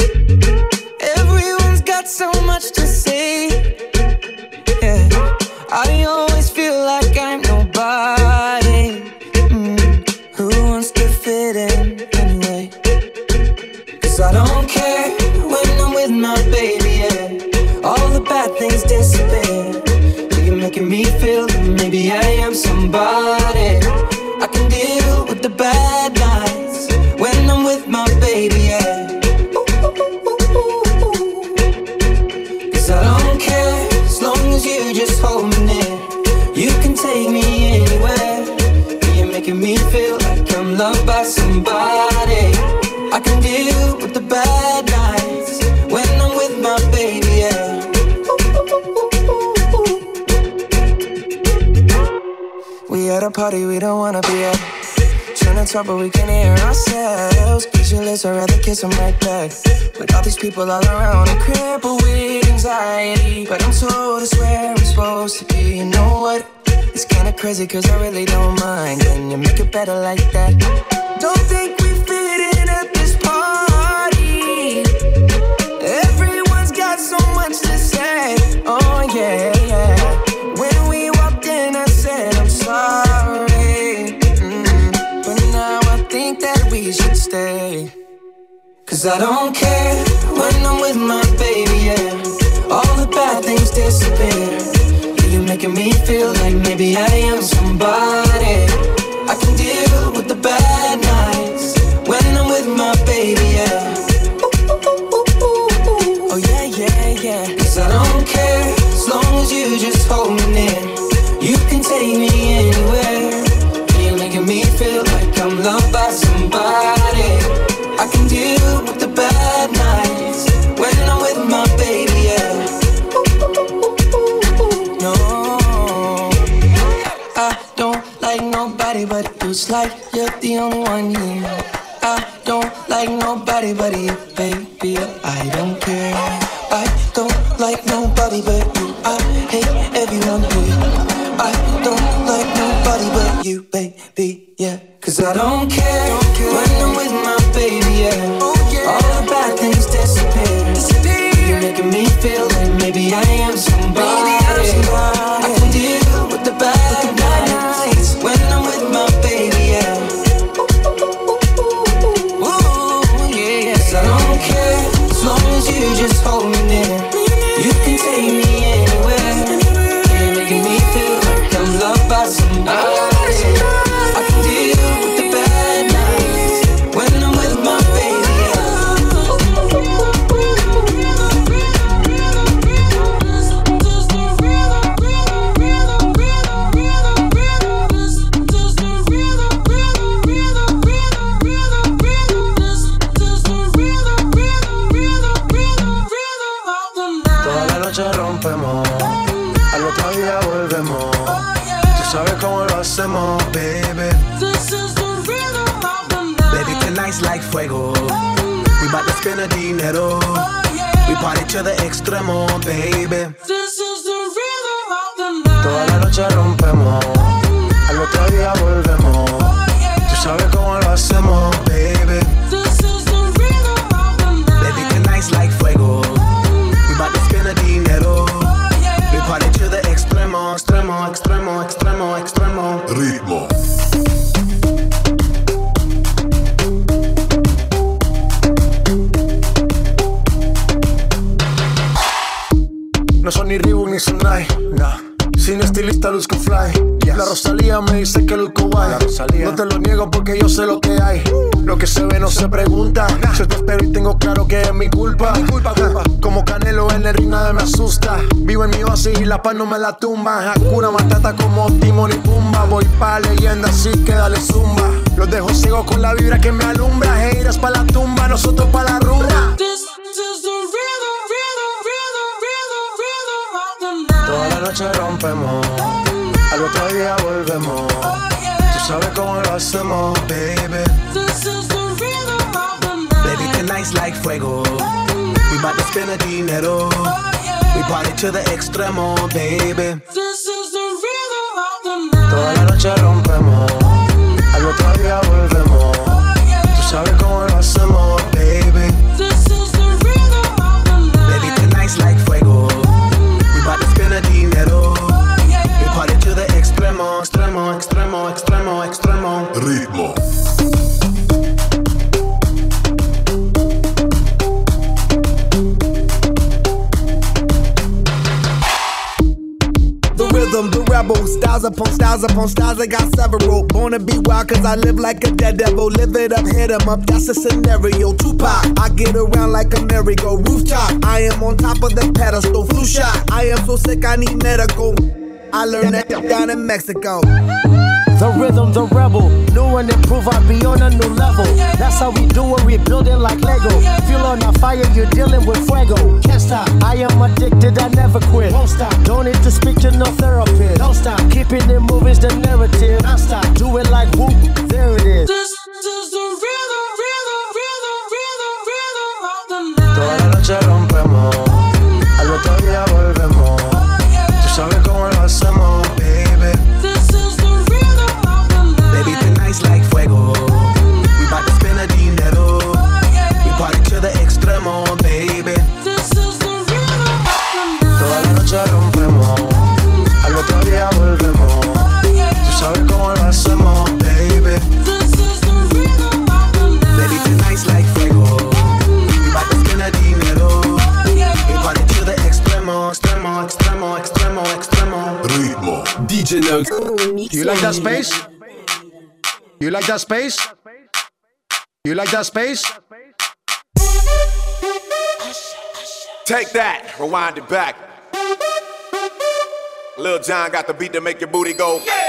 Everyone's got so much to say. Yeah, I always feel like I'm nobody. Who wants to fit in anyway? Cause I don't care when I'm with my baby, yeah. All the bad things disappear. You're making me feel that maybe I am somebody. I can deal with the bad nights when I'm with my baby, yeah. Cause I don't care as long as you just hold me near. You can take me anywhere. You're making me feel like I'm loved by somebody. I can deal with the bad nights when I'm with my baby, yeah. We at a party we don't wanna be at. Trying to talk but we can't hear ourselves. Speechless, I'd rather kiss them right back. With all these people all around, I'm crippled with anxiety. But I'm told it's where I'm supposed to be. You know what? It's kinda crazy cause I really don't mind. Can you make it better like that? Don't think we fit in at this party. Everyone's got so much to say. Oh yeah, yeah. When we walked in I said I'm sorry. 'Cause I don't care when I'm with my baby, yeah. All the bad things disappear. Yeah, you're making me feel like maybe I am somebody. I can deal with the bad nights when I'm with my baby, yeah. Oh yeah, yeah, yeah. 'Cause I don't care as long as you just hold me near. You can take me anywhere. You're making me feel like I'm loved by somebody. I can deal with the bad nights when I'm with my baby, yeah. No, I don't like nobody but you. It's like you're the only one here. I don't like nobody but you, baby. I don't care. I don't like nobody but you. I hate everyone here. I don't like nobody but you, baby, yeah. 'Cause I don't care when I'm with my baby, yeah. All the bad things disappear. You're making me feel like maybe I am somebody. I can deal with the bad nights when I'm with my baby, yeah. Ooh, yeah, yes, I don't care as long as you just hold me near. You can take me anywhere. You're making me feel like I'm loved by somebody. I can deal with the bad nights when I'm with my baby, yeah. Toda la noche rompemos, al otro día volvemos. Tú sabes cómo lo hacemos, baby. Baby, tonight's like fuego. We bout to spend the dinero. We party to the extremo, baby. Toda la noche rompemos, al otro día volvemos. Tú sabes cómo lo hacemos, baby. Baby, tonight's like fuego. We bout to spend the dinero. We party to the extremo, extremo, extremo, extremo, extremo. Ritmo. No son ni Reebok ni Sonai, nah. Sin estilista luzco fly, yes. La Rosalía me dice que luzco guay. No te lo niego porque yo sé lo que hay. Lo que se ve no se pregunta, nah. Yo te espero y tengo claro que es mi culpa, Como Canelo en el ring nada me asusta. Vivo en mi oasis y la paz no me la tumba. Hakuna Matata como Timon y Pumba. Voy pa' leyenda así que dale zumba. Los dejo ciegos con la vibra que me alumbra. Heiras pa' la tumba, nosotros pa' la rumba. Toda la noche rompemos, al otro día volvemos. Tú sabes cómo lo hacemos, baby. Baby, tonight's like fuego. We bout to spend the dinero. We party to the extremo, baby. Toda la noche rompemos, al otro día volvemos. Tú sabes cómo lo hacemos, baby. Baby, tonight's like fuego. Bout to spend the dinero. We party to the extremo, extremo, extremo, extremo, extremo. Ritmo. The rhythm, the rebel, styles upon styles upon styles, I got several. Born to be wild cause I live like a dead devil. Live it up, hit 'em up, that's the scenario. Tupac, I get around like a merry-go rooftop. I am on top of the pedestal, flu shot. I am so sick I need medical. I learned that down in Mexico. The rhythm, the rebel, new and improve, I'll be on a new level. That's how we do it, we build it like Lego. Feel on a fire, you're dealing with fuego. Can't stop, I am addicted, I never quit. Won't stop, don't need to speak to no therapist. Don't stop, keeping it moving's the narrative. Don't stop, do it like whoop, there it is. This is the rhythm, rhythm, rhythm, rhythm, rhythm of the night. Toda la noche rompemos, al otro día volvemos. Tú sabes cómo lo hacemos, baby. This is the rhythm of the night. Baby, tonight's like fuego. We bout to spend the dinero. We party to the extremo, baby. This is the rhythm of the night. Toda la noche rompemos, al otro día volvemos. Tú sabes cómo lo hacemos, baby. like that space? You like that space? You like that space? Take that, rewind it back. Lil Jon got the beat to make your booty go. Yeah.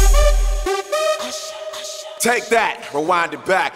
Take that, rewind it back.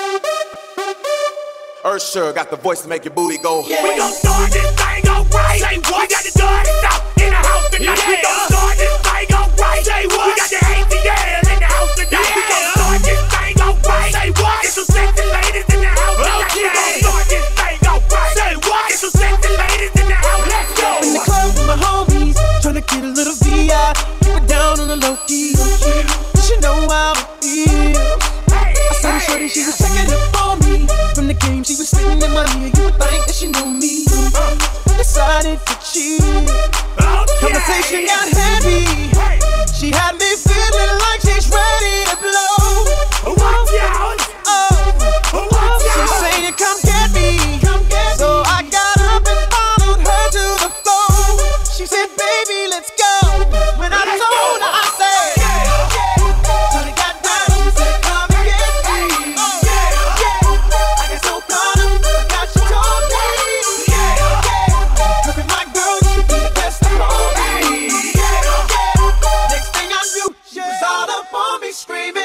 Usher got the voice to make your booty go. Yeah. We gon' start this thing alright. Say what? We got the dirty stuff in the house tonight. Yeah. We gon' start this thing alright. Say what? We got the ATL in the house tonight. Yeah. We gon' start this thing alright. Say what? Get some sexy ladies in the house tonight. We gon' start this thing alright. Say what? Get some sexy ladies in the house. Let's go. In the club with my homies, tryna get a little VI. Keep it down on the low key. She know how it feels. I saw the shorty, she was checking up on me. From the game, she was spitting in my ear. You would think that she knew me. Decided to cheat. Conversation got heavy. She had me feeling like she's ready to blow. Watch out! She saying, come get me. So I got up and followed her to the floor. She said, baby, let's go. When I told her, I said, till it got down, she said, come and get me. I got so caught up, I got you told me. Look at my girl, you be the best of all me. Next thing I knew, she was all up on me screaming.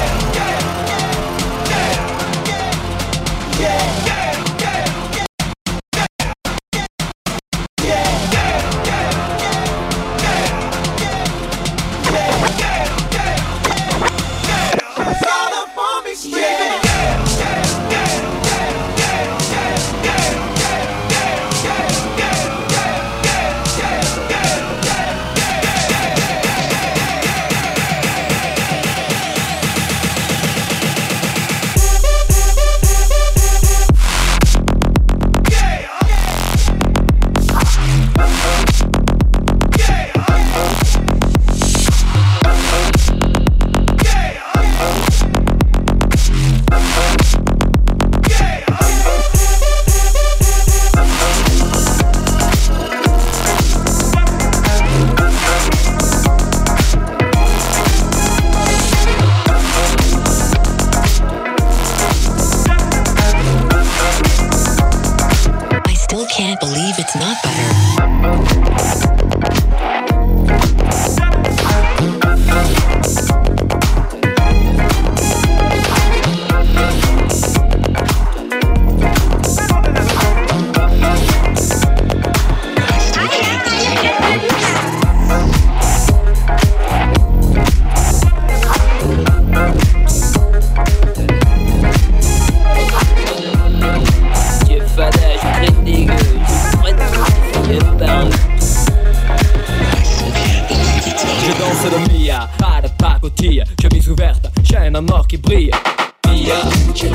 Can't believe it's not butter. Pas de pacotille, chemise ouverte, chaîne en or qui brille. Mia, je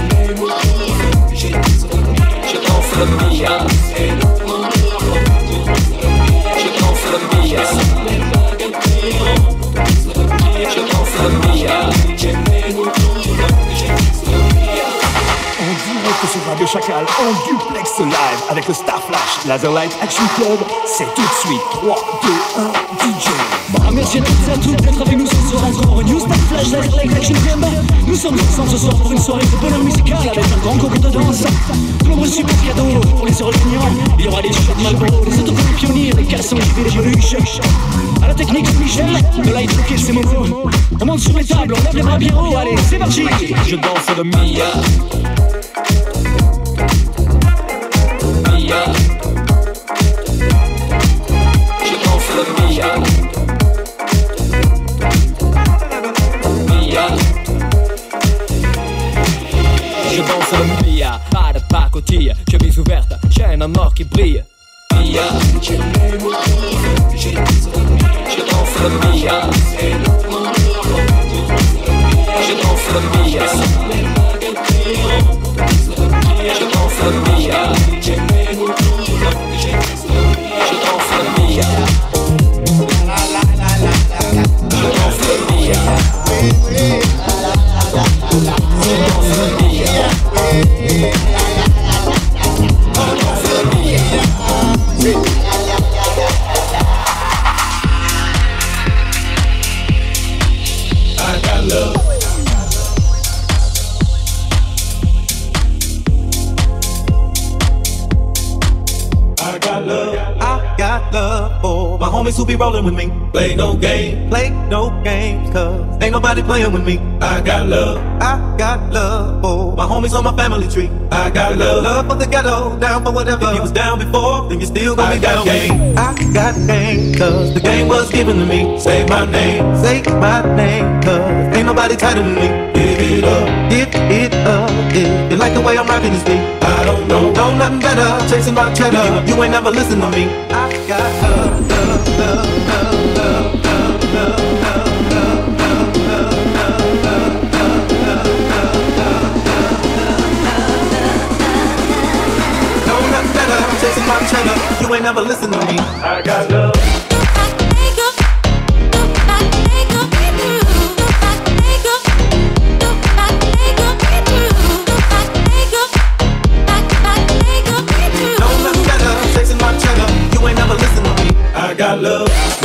danse le Mia. Je danse le Mia. Je danse le Mia. En direct sur Radio Chacal, en duplex live avec le Star Flash Laserlight Action Club, c'est tout de suite 3, 2, 1, DJ. Merci à toutes et à tous d'être avec nous ce soir encore. New Star Flash Laserlight Action Club. Nous sommes ensemble ce soir pour une soirée de bonheur musical avec un grand concours de danse. De nombreux super cadeaux pour les heureux gagnants. Il y aura des shots Malboro, des autocollants pionniers, des caleçons JV, des peluches. À la technique Michel, le light rock et ses moments. On monte sur les tables, on lève les bras bien haut. Allez, c'est parti. Je danse le Mia. Mia. Je danse le Mia. Mia. Je danse le Mia. Pas de pacotille, chemise ouverte, chaîne en or qui brille. Mia. Je danse le Mia. Je danse le Mia. Je danse le Mia. Je danse le Mia. Je danse le Mia. homies who be rolling with me. Play no games, cause ain't nobody playing with me. I got love for my homies on my family tree. I got love for the ghetto, down for whatever. If you was down before, then you still gonna be down with me. I got game, cause the game was given to me. Say my name, cause ain't nobody tighter than me. Give it up, if you like the way I'm rocking this beat. I don't know nothing better, chasing my cheddar. You ain't never listen to me. I got love. Chasing my cheddar, you ain't never listen to me. I got love. No nothing better, chasing my cheddar, you ain't never listen to me. I got love.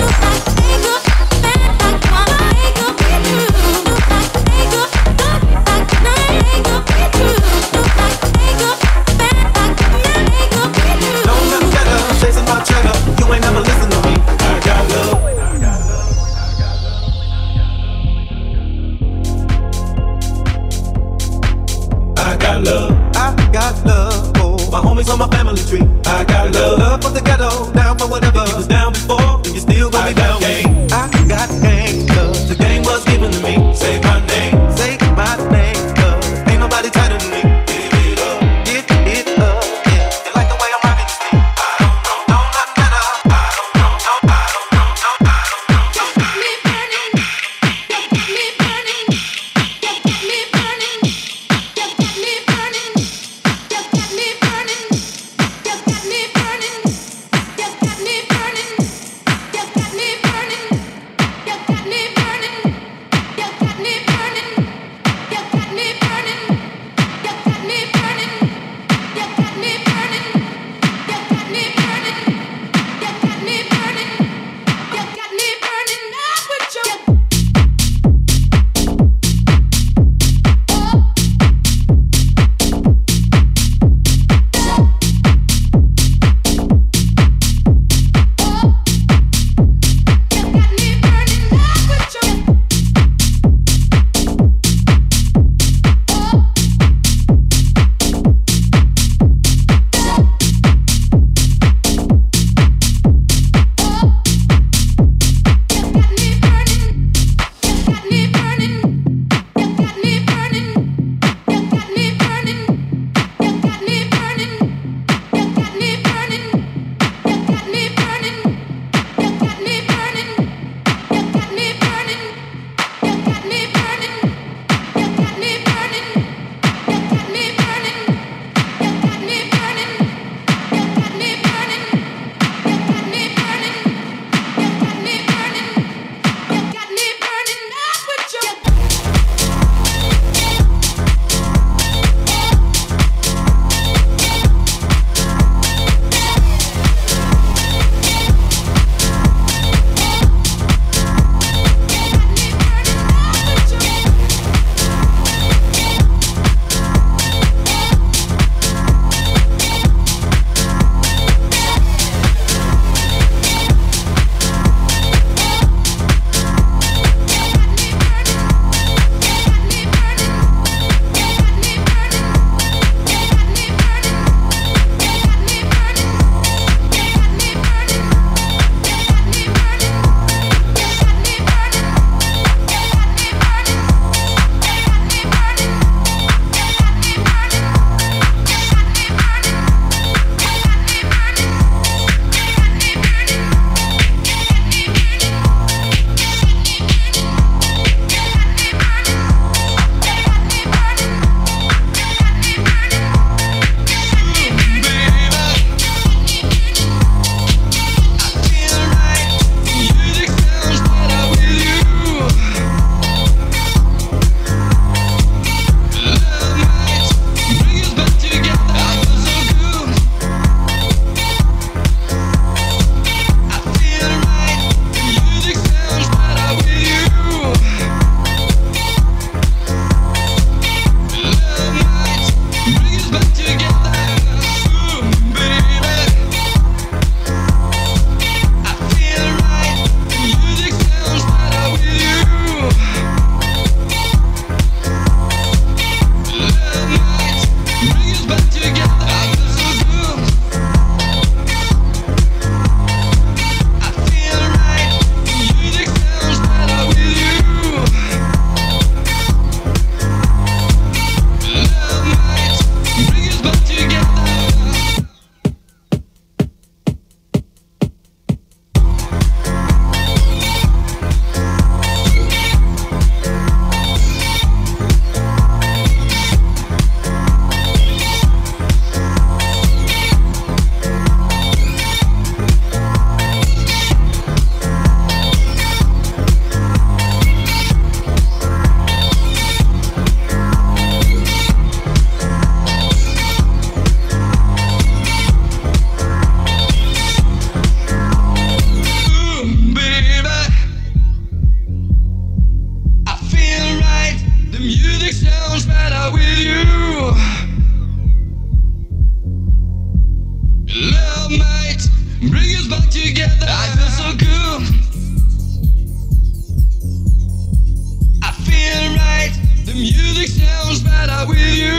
On my family tree, I got love for the ghetto, down for whatever. If you was down before, then you still gonna be down. Game. I got game, cause the game was given to me. Say my name, cause ain't nobody tighter than me. Give it up, yeah. You like the way I'm rocking this beat? I don't know nothing better. I don't know. Me burning, me burning, me burning, me burning, me burning. better with you. Love might bring us back together. I feel so good. I feel right. The music sounds better with you.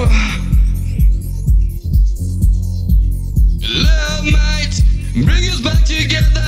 Love might bring us back together.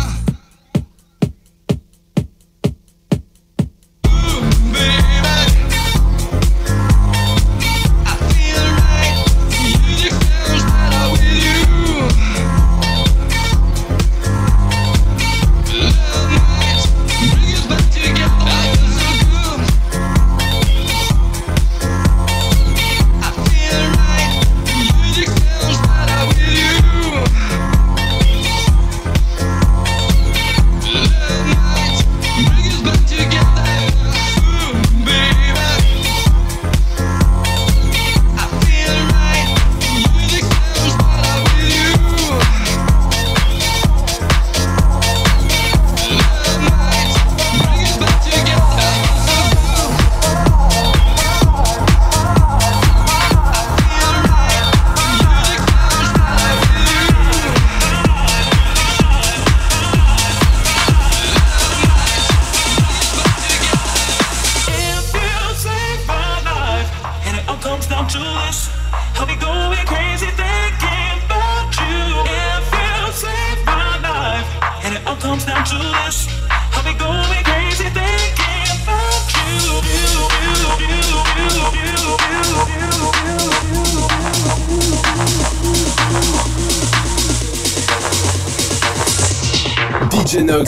DJ Nox.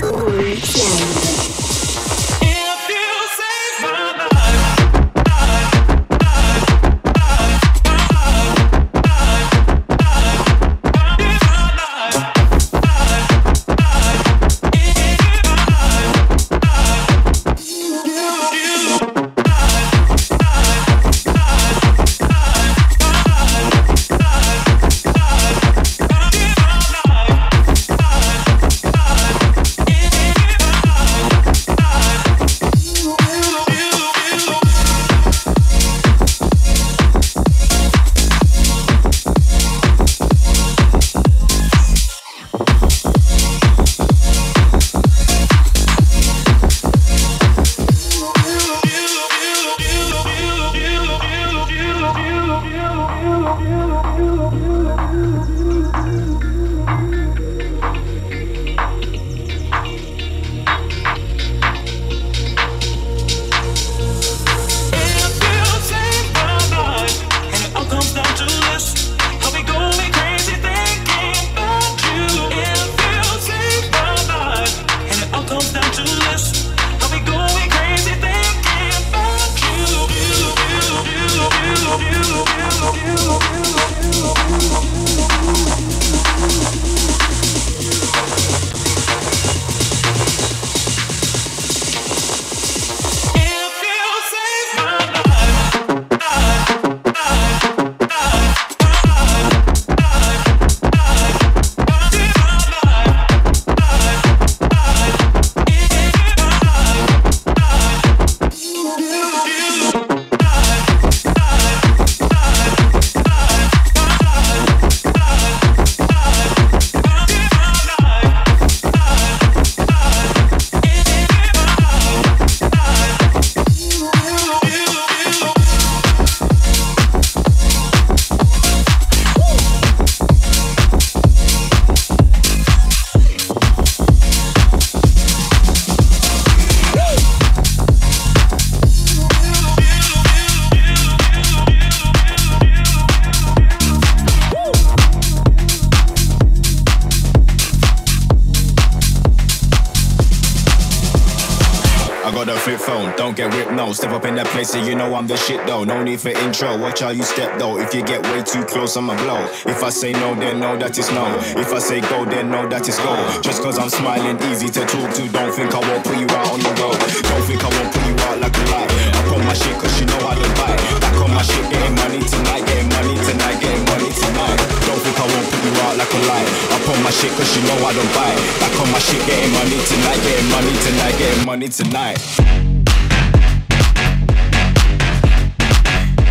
Get whipped, no. Step up in that place and you know I'm the shit though. No need for intro, watch how you step though. If you get way too close, I'ma blow. If I say no, then no, that is no. If I say go, then no, that is go. Just cause I'm smiling, easy to talk to. Don't think I won't put you out on the road. Don't think I won't put you out like a light. Up on my shit cause you know I don't bite. Back on my shit, getting money tonight. Getting money tonight, getting money tonight. Don't think I won't put you out like a light. Up on my shit cause you know I don't bite. Back on my shit, getting money tonight. Getting money tonight, getting money tonight.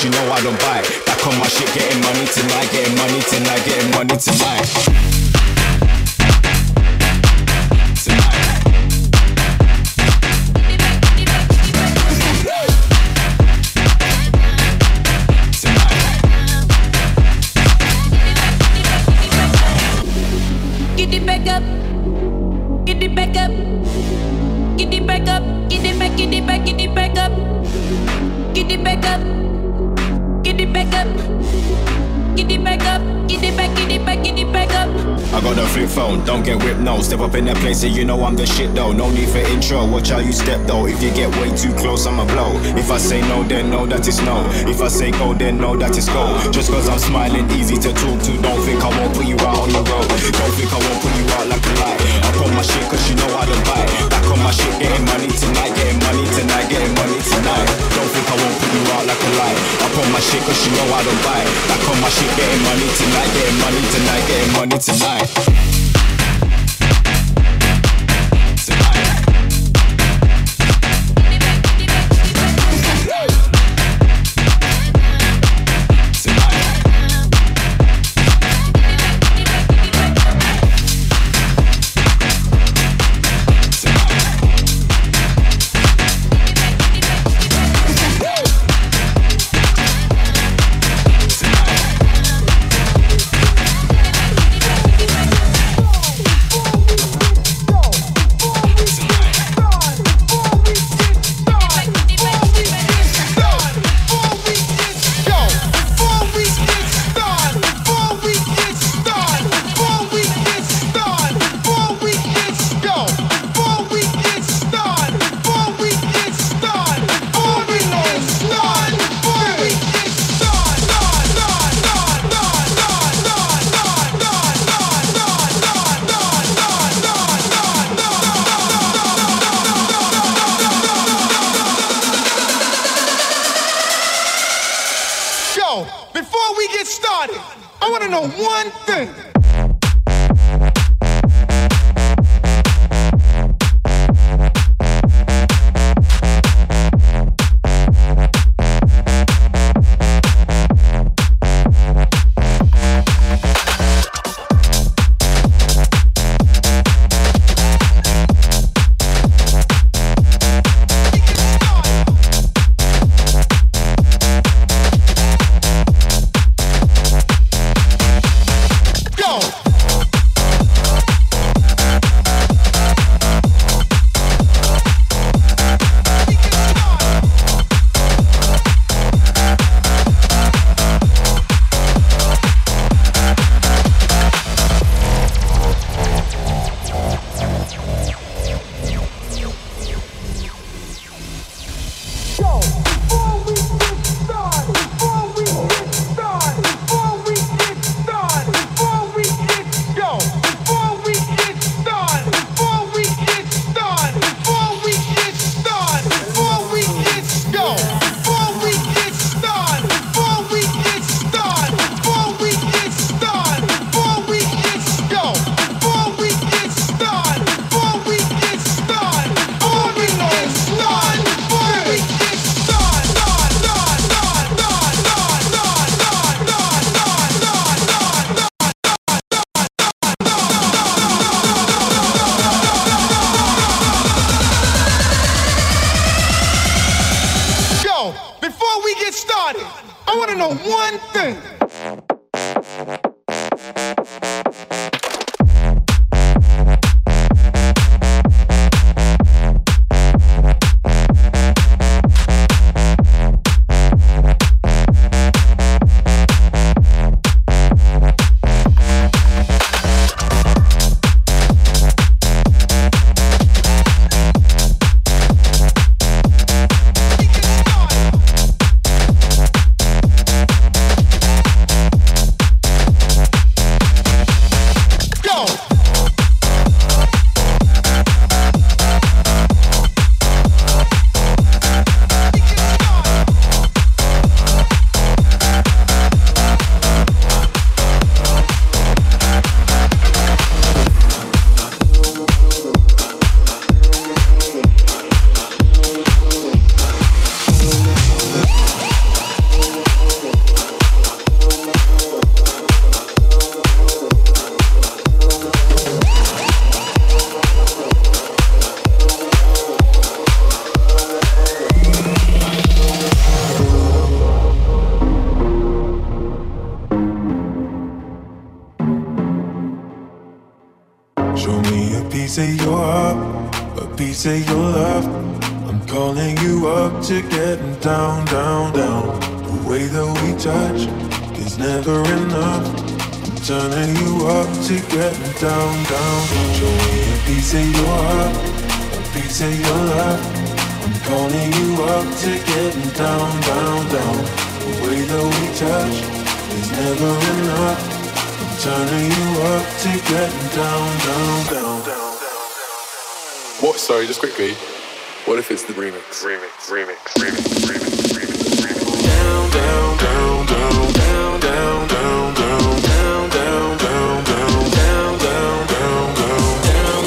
cause you know I don't bite. Back on my shit, getting money tonight, getting money tonight, getting money tonight. Get it back up, get it back up, get it back up, get it back, get it back, get it back up, get it back up, get it back up, get it back up, get it back, get it back, get it back up. I got a flip phone, don't get whipped, no. Step up in that place, so you know I'm the shit though. No need for intro, watch how you step though. If you get way too close, I'ma blow. If I say no, then no, that is no. If I say go, then no, that is go. Just cause I'm smiling, easy to talk to. Don't think I won't put you out on the road. Don't think I won't put you out like a lie. Up on my shit cause you know I don't bite. Back on my shit, getting money tonight, getting money tonight, getting money tonight. Don't think I won't put you out like a lie. Up on my shit cause you know I don't bite. Back on my shit, getting money tonight, getting money tonight, getting money tonight. Before we get started, I want to know one thing. Before we get started, I want to know one thing. piece of your heart, a piece of your love. I'm calling you up to getting down, down, down. The way that we touch is never enough. I'm turning you up to getting down, down. Show me a piece of your heart, a piece of your love. I'm calling you up to getting down, down, down. The way that we touch is never enough. I'm turning you up to getting down, down, down, down. What? Sorry, just quickly. What if it's the remix? Down, down, down, down, down, down, down, down, down, down, down, down, down, down, down, down,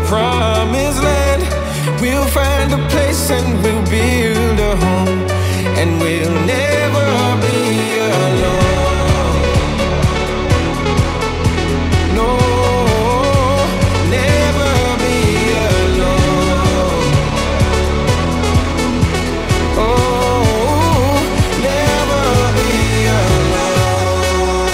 promised land. We'll find a place and we'll build a home, and we'll never be alone. No, never be alone. Oh, never be alone.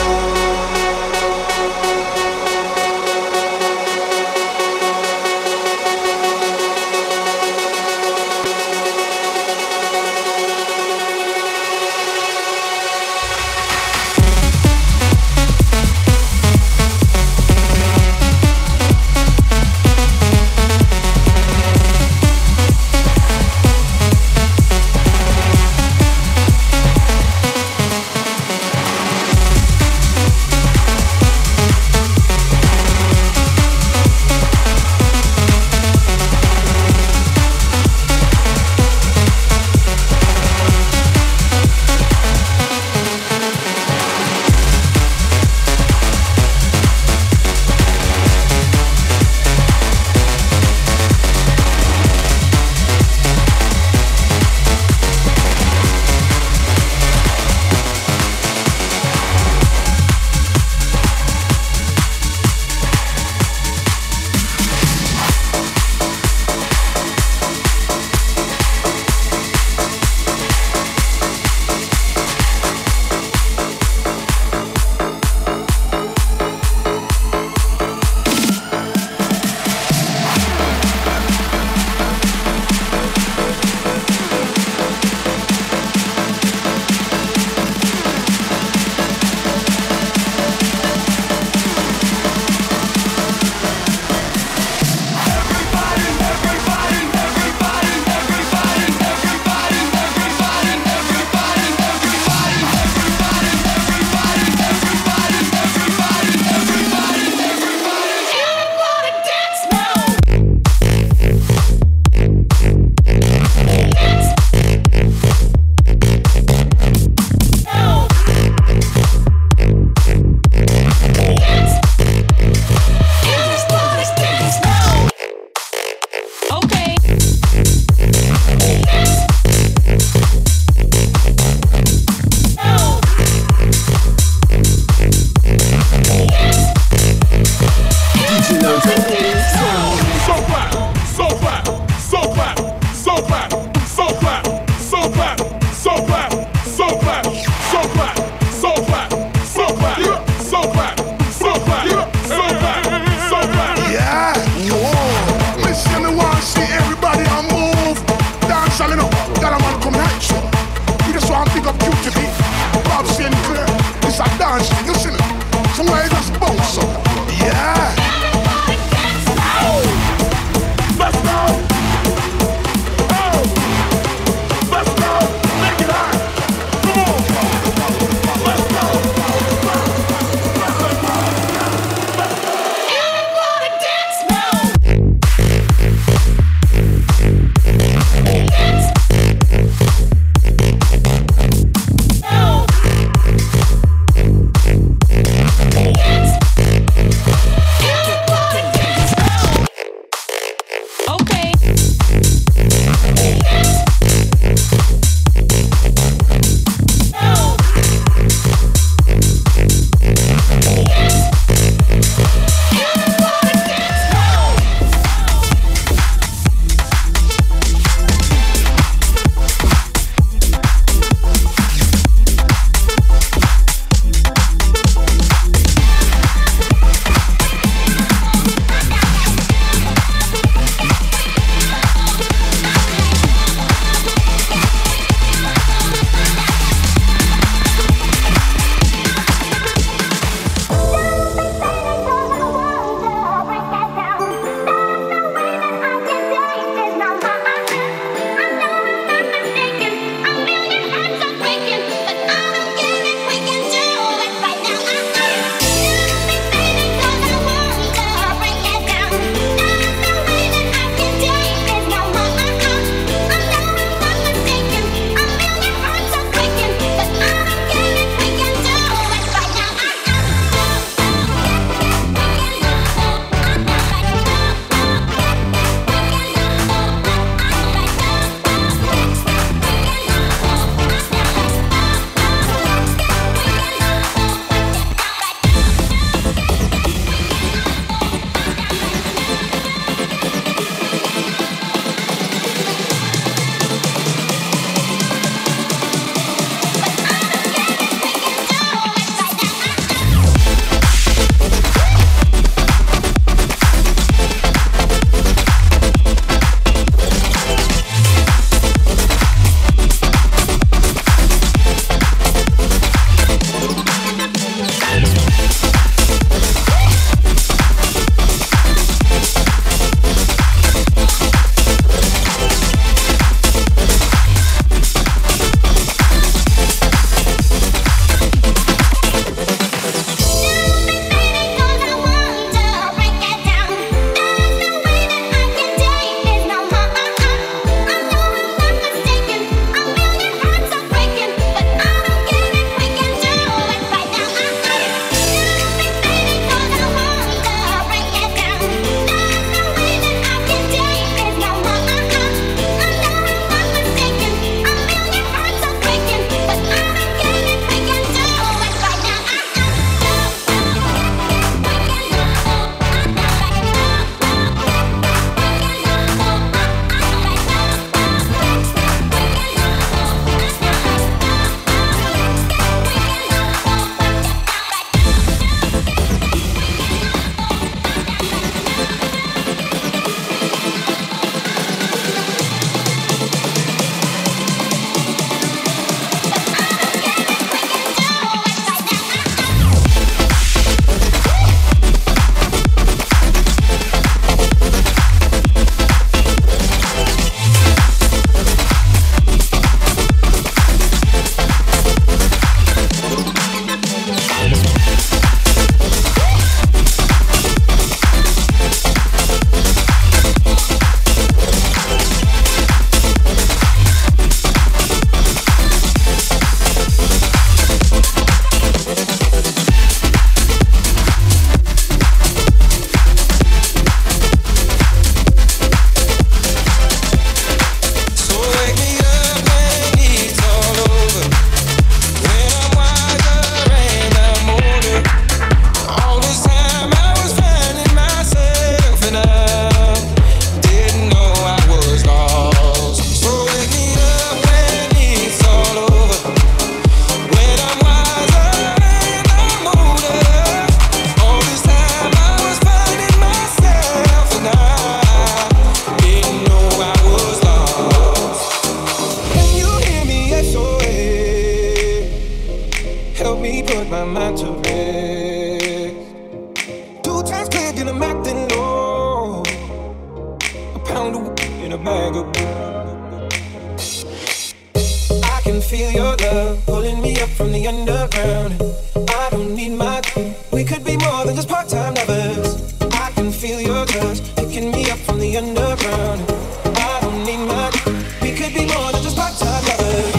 I can feel your love pulling me up from the underground. I don't need my. We could be more than just part-time lovers. I can feel your touch picking me up from the underground. I don't need my. We could be more than just part-time lovers.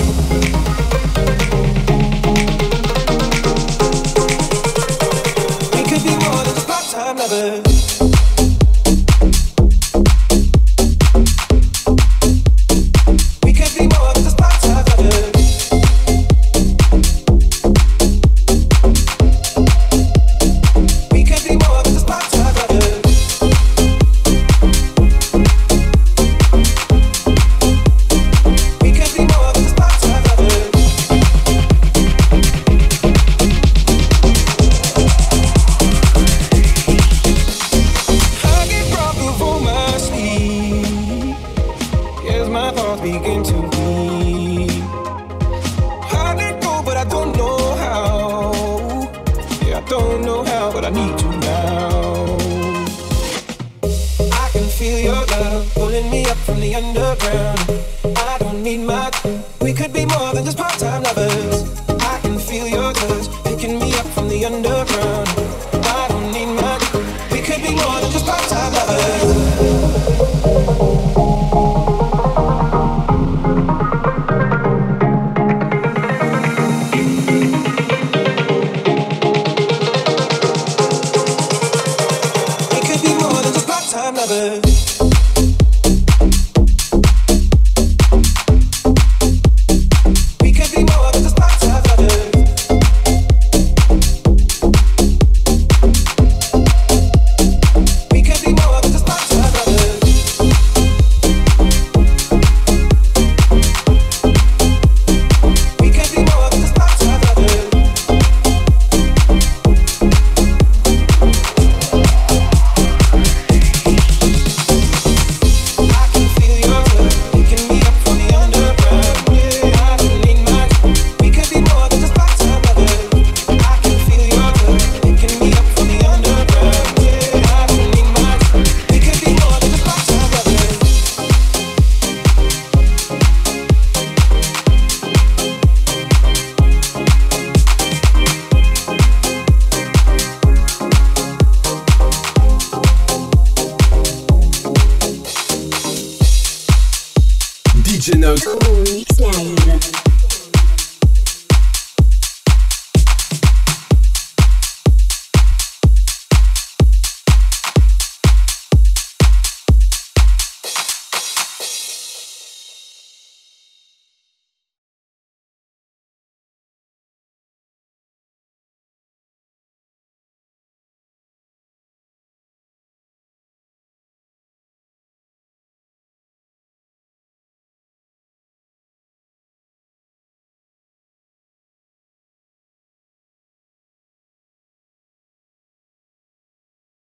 We could be more than just part-time lovers. DJ Note. Mix Live.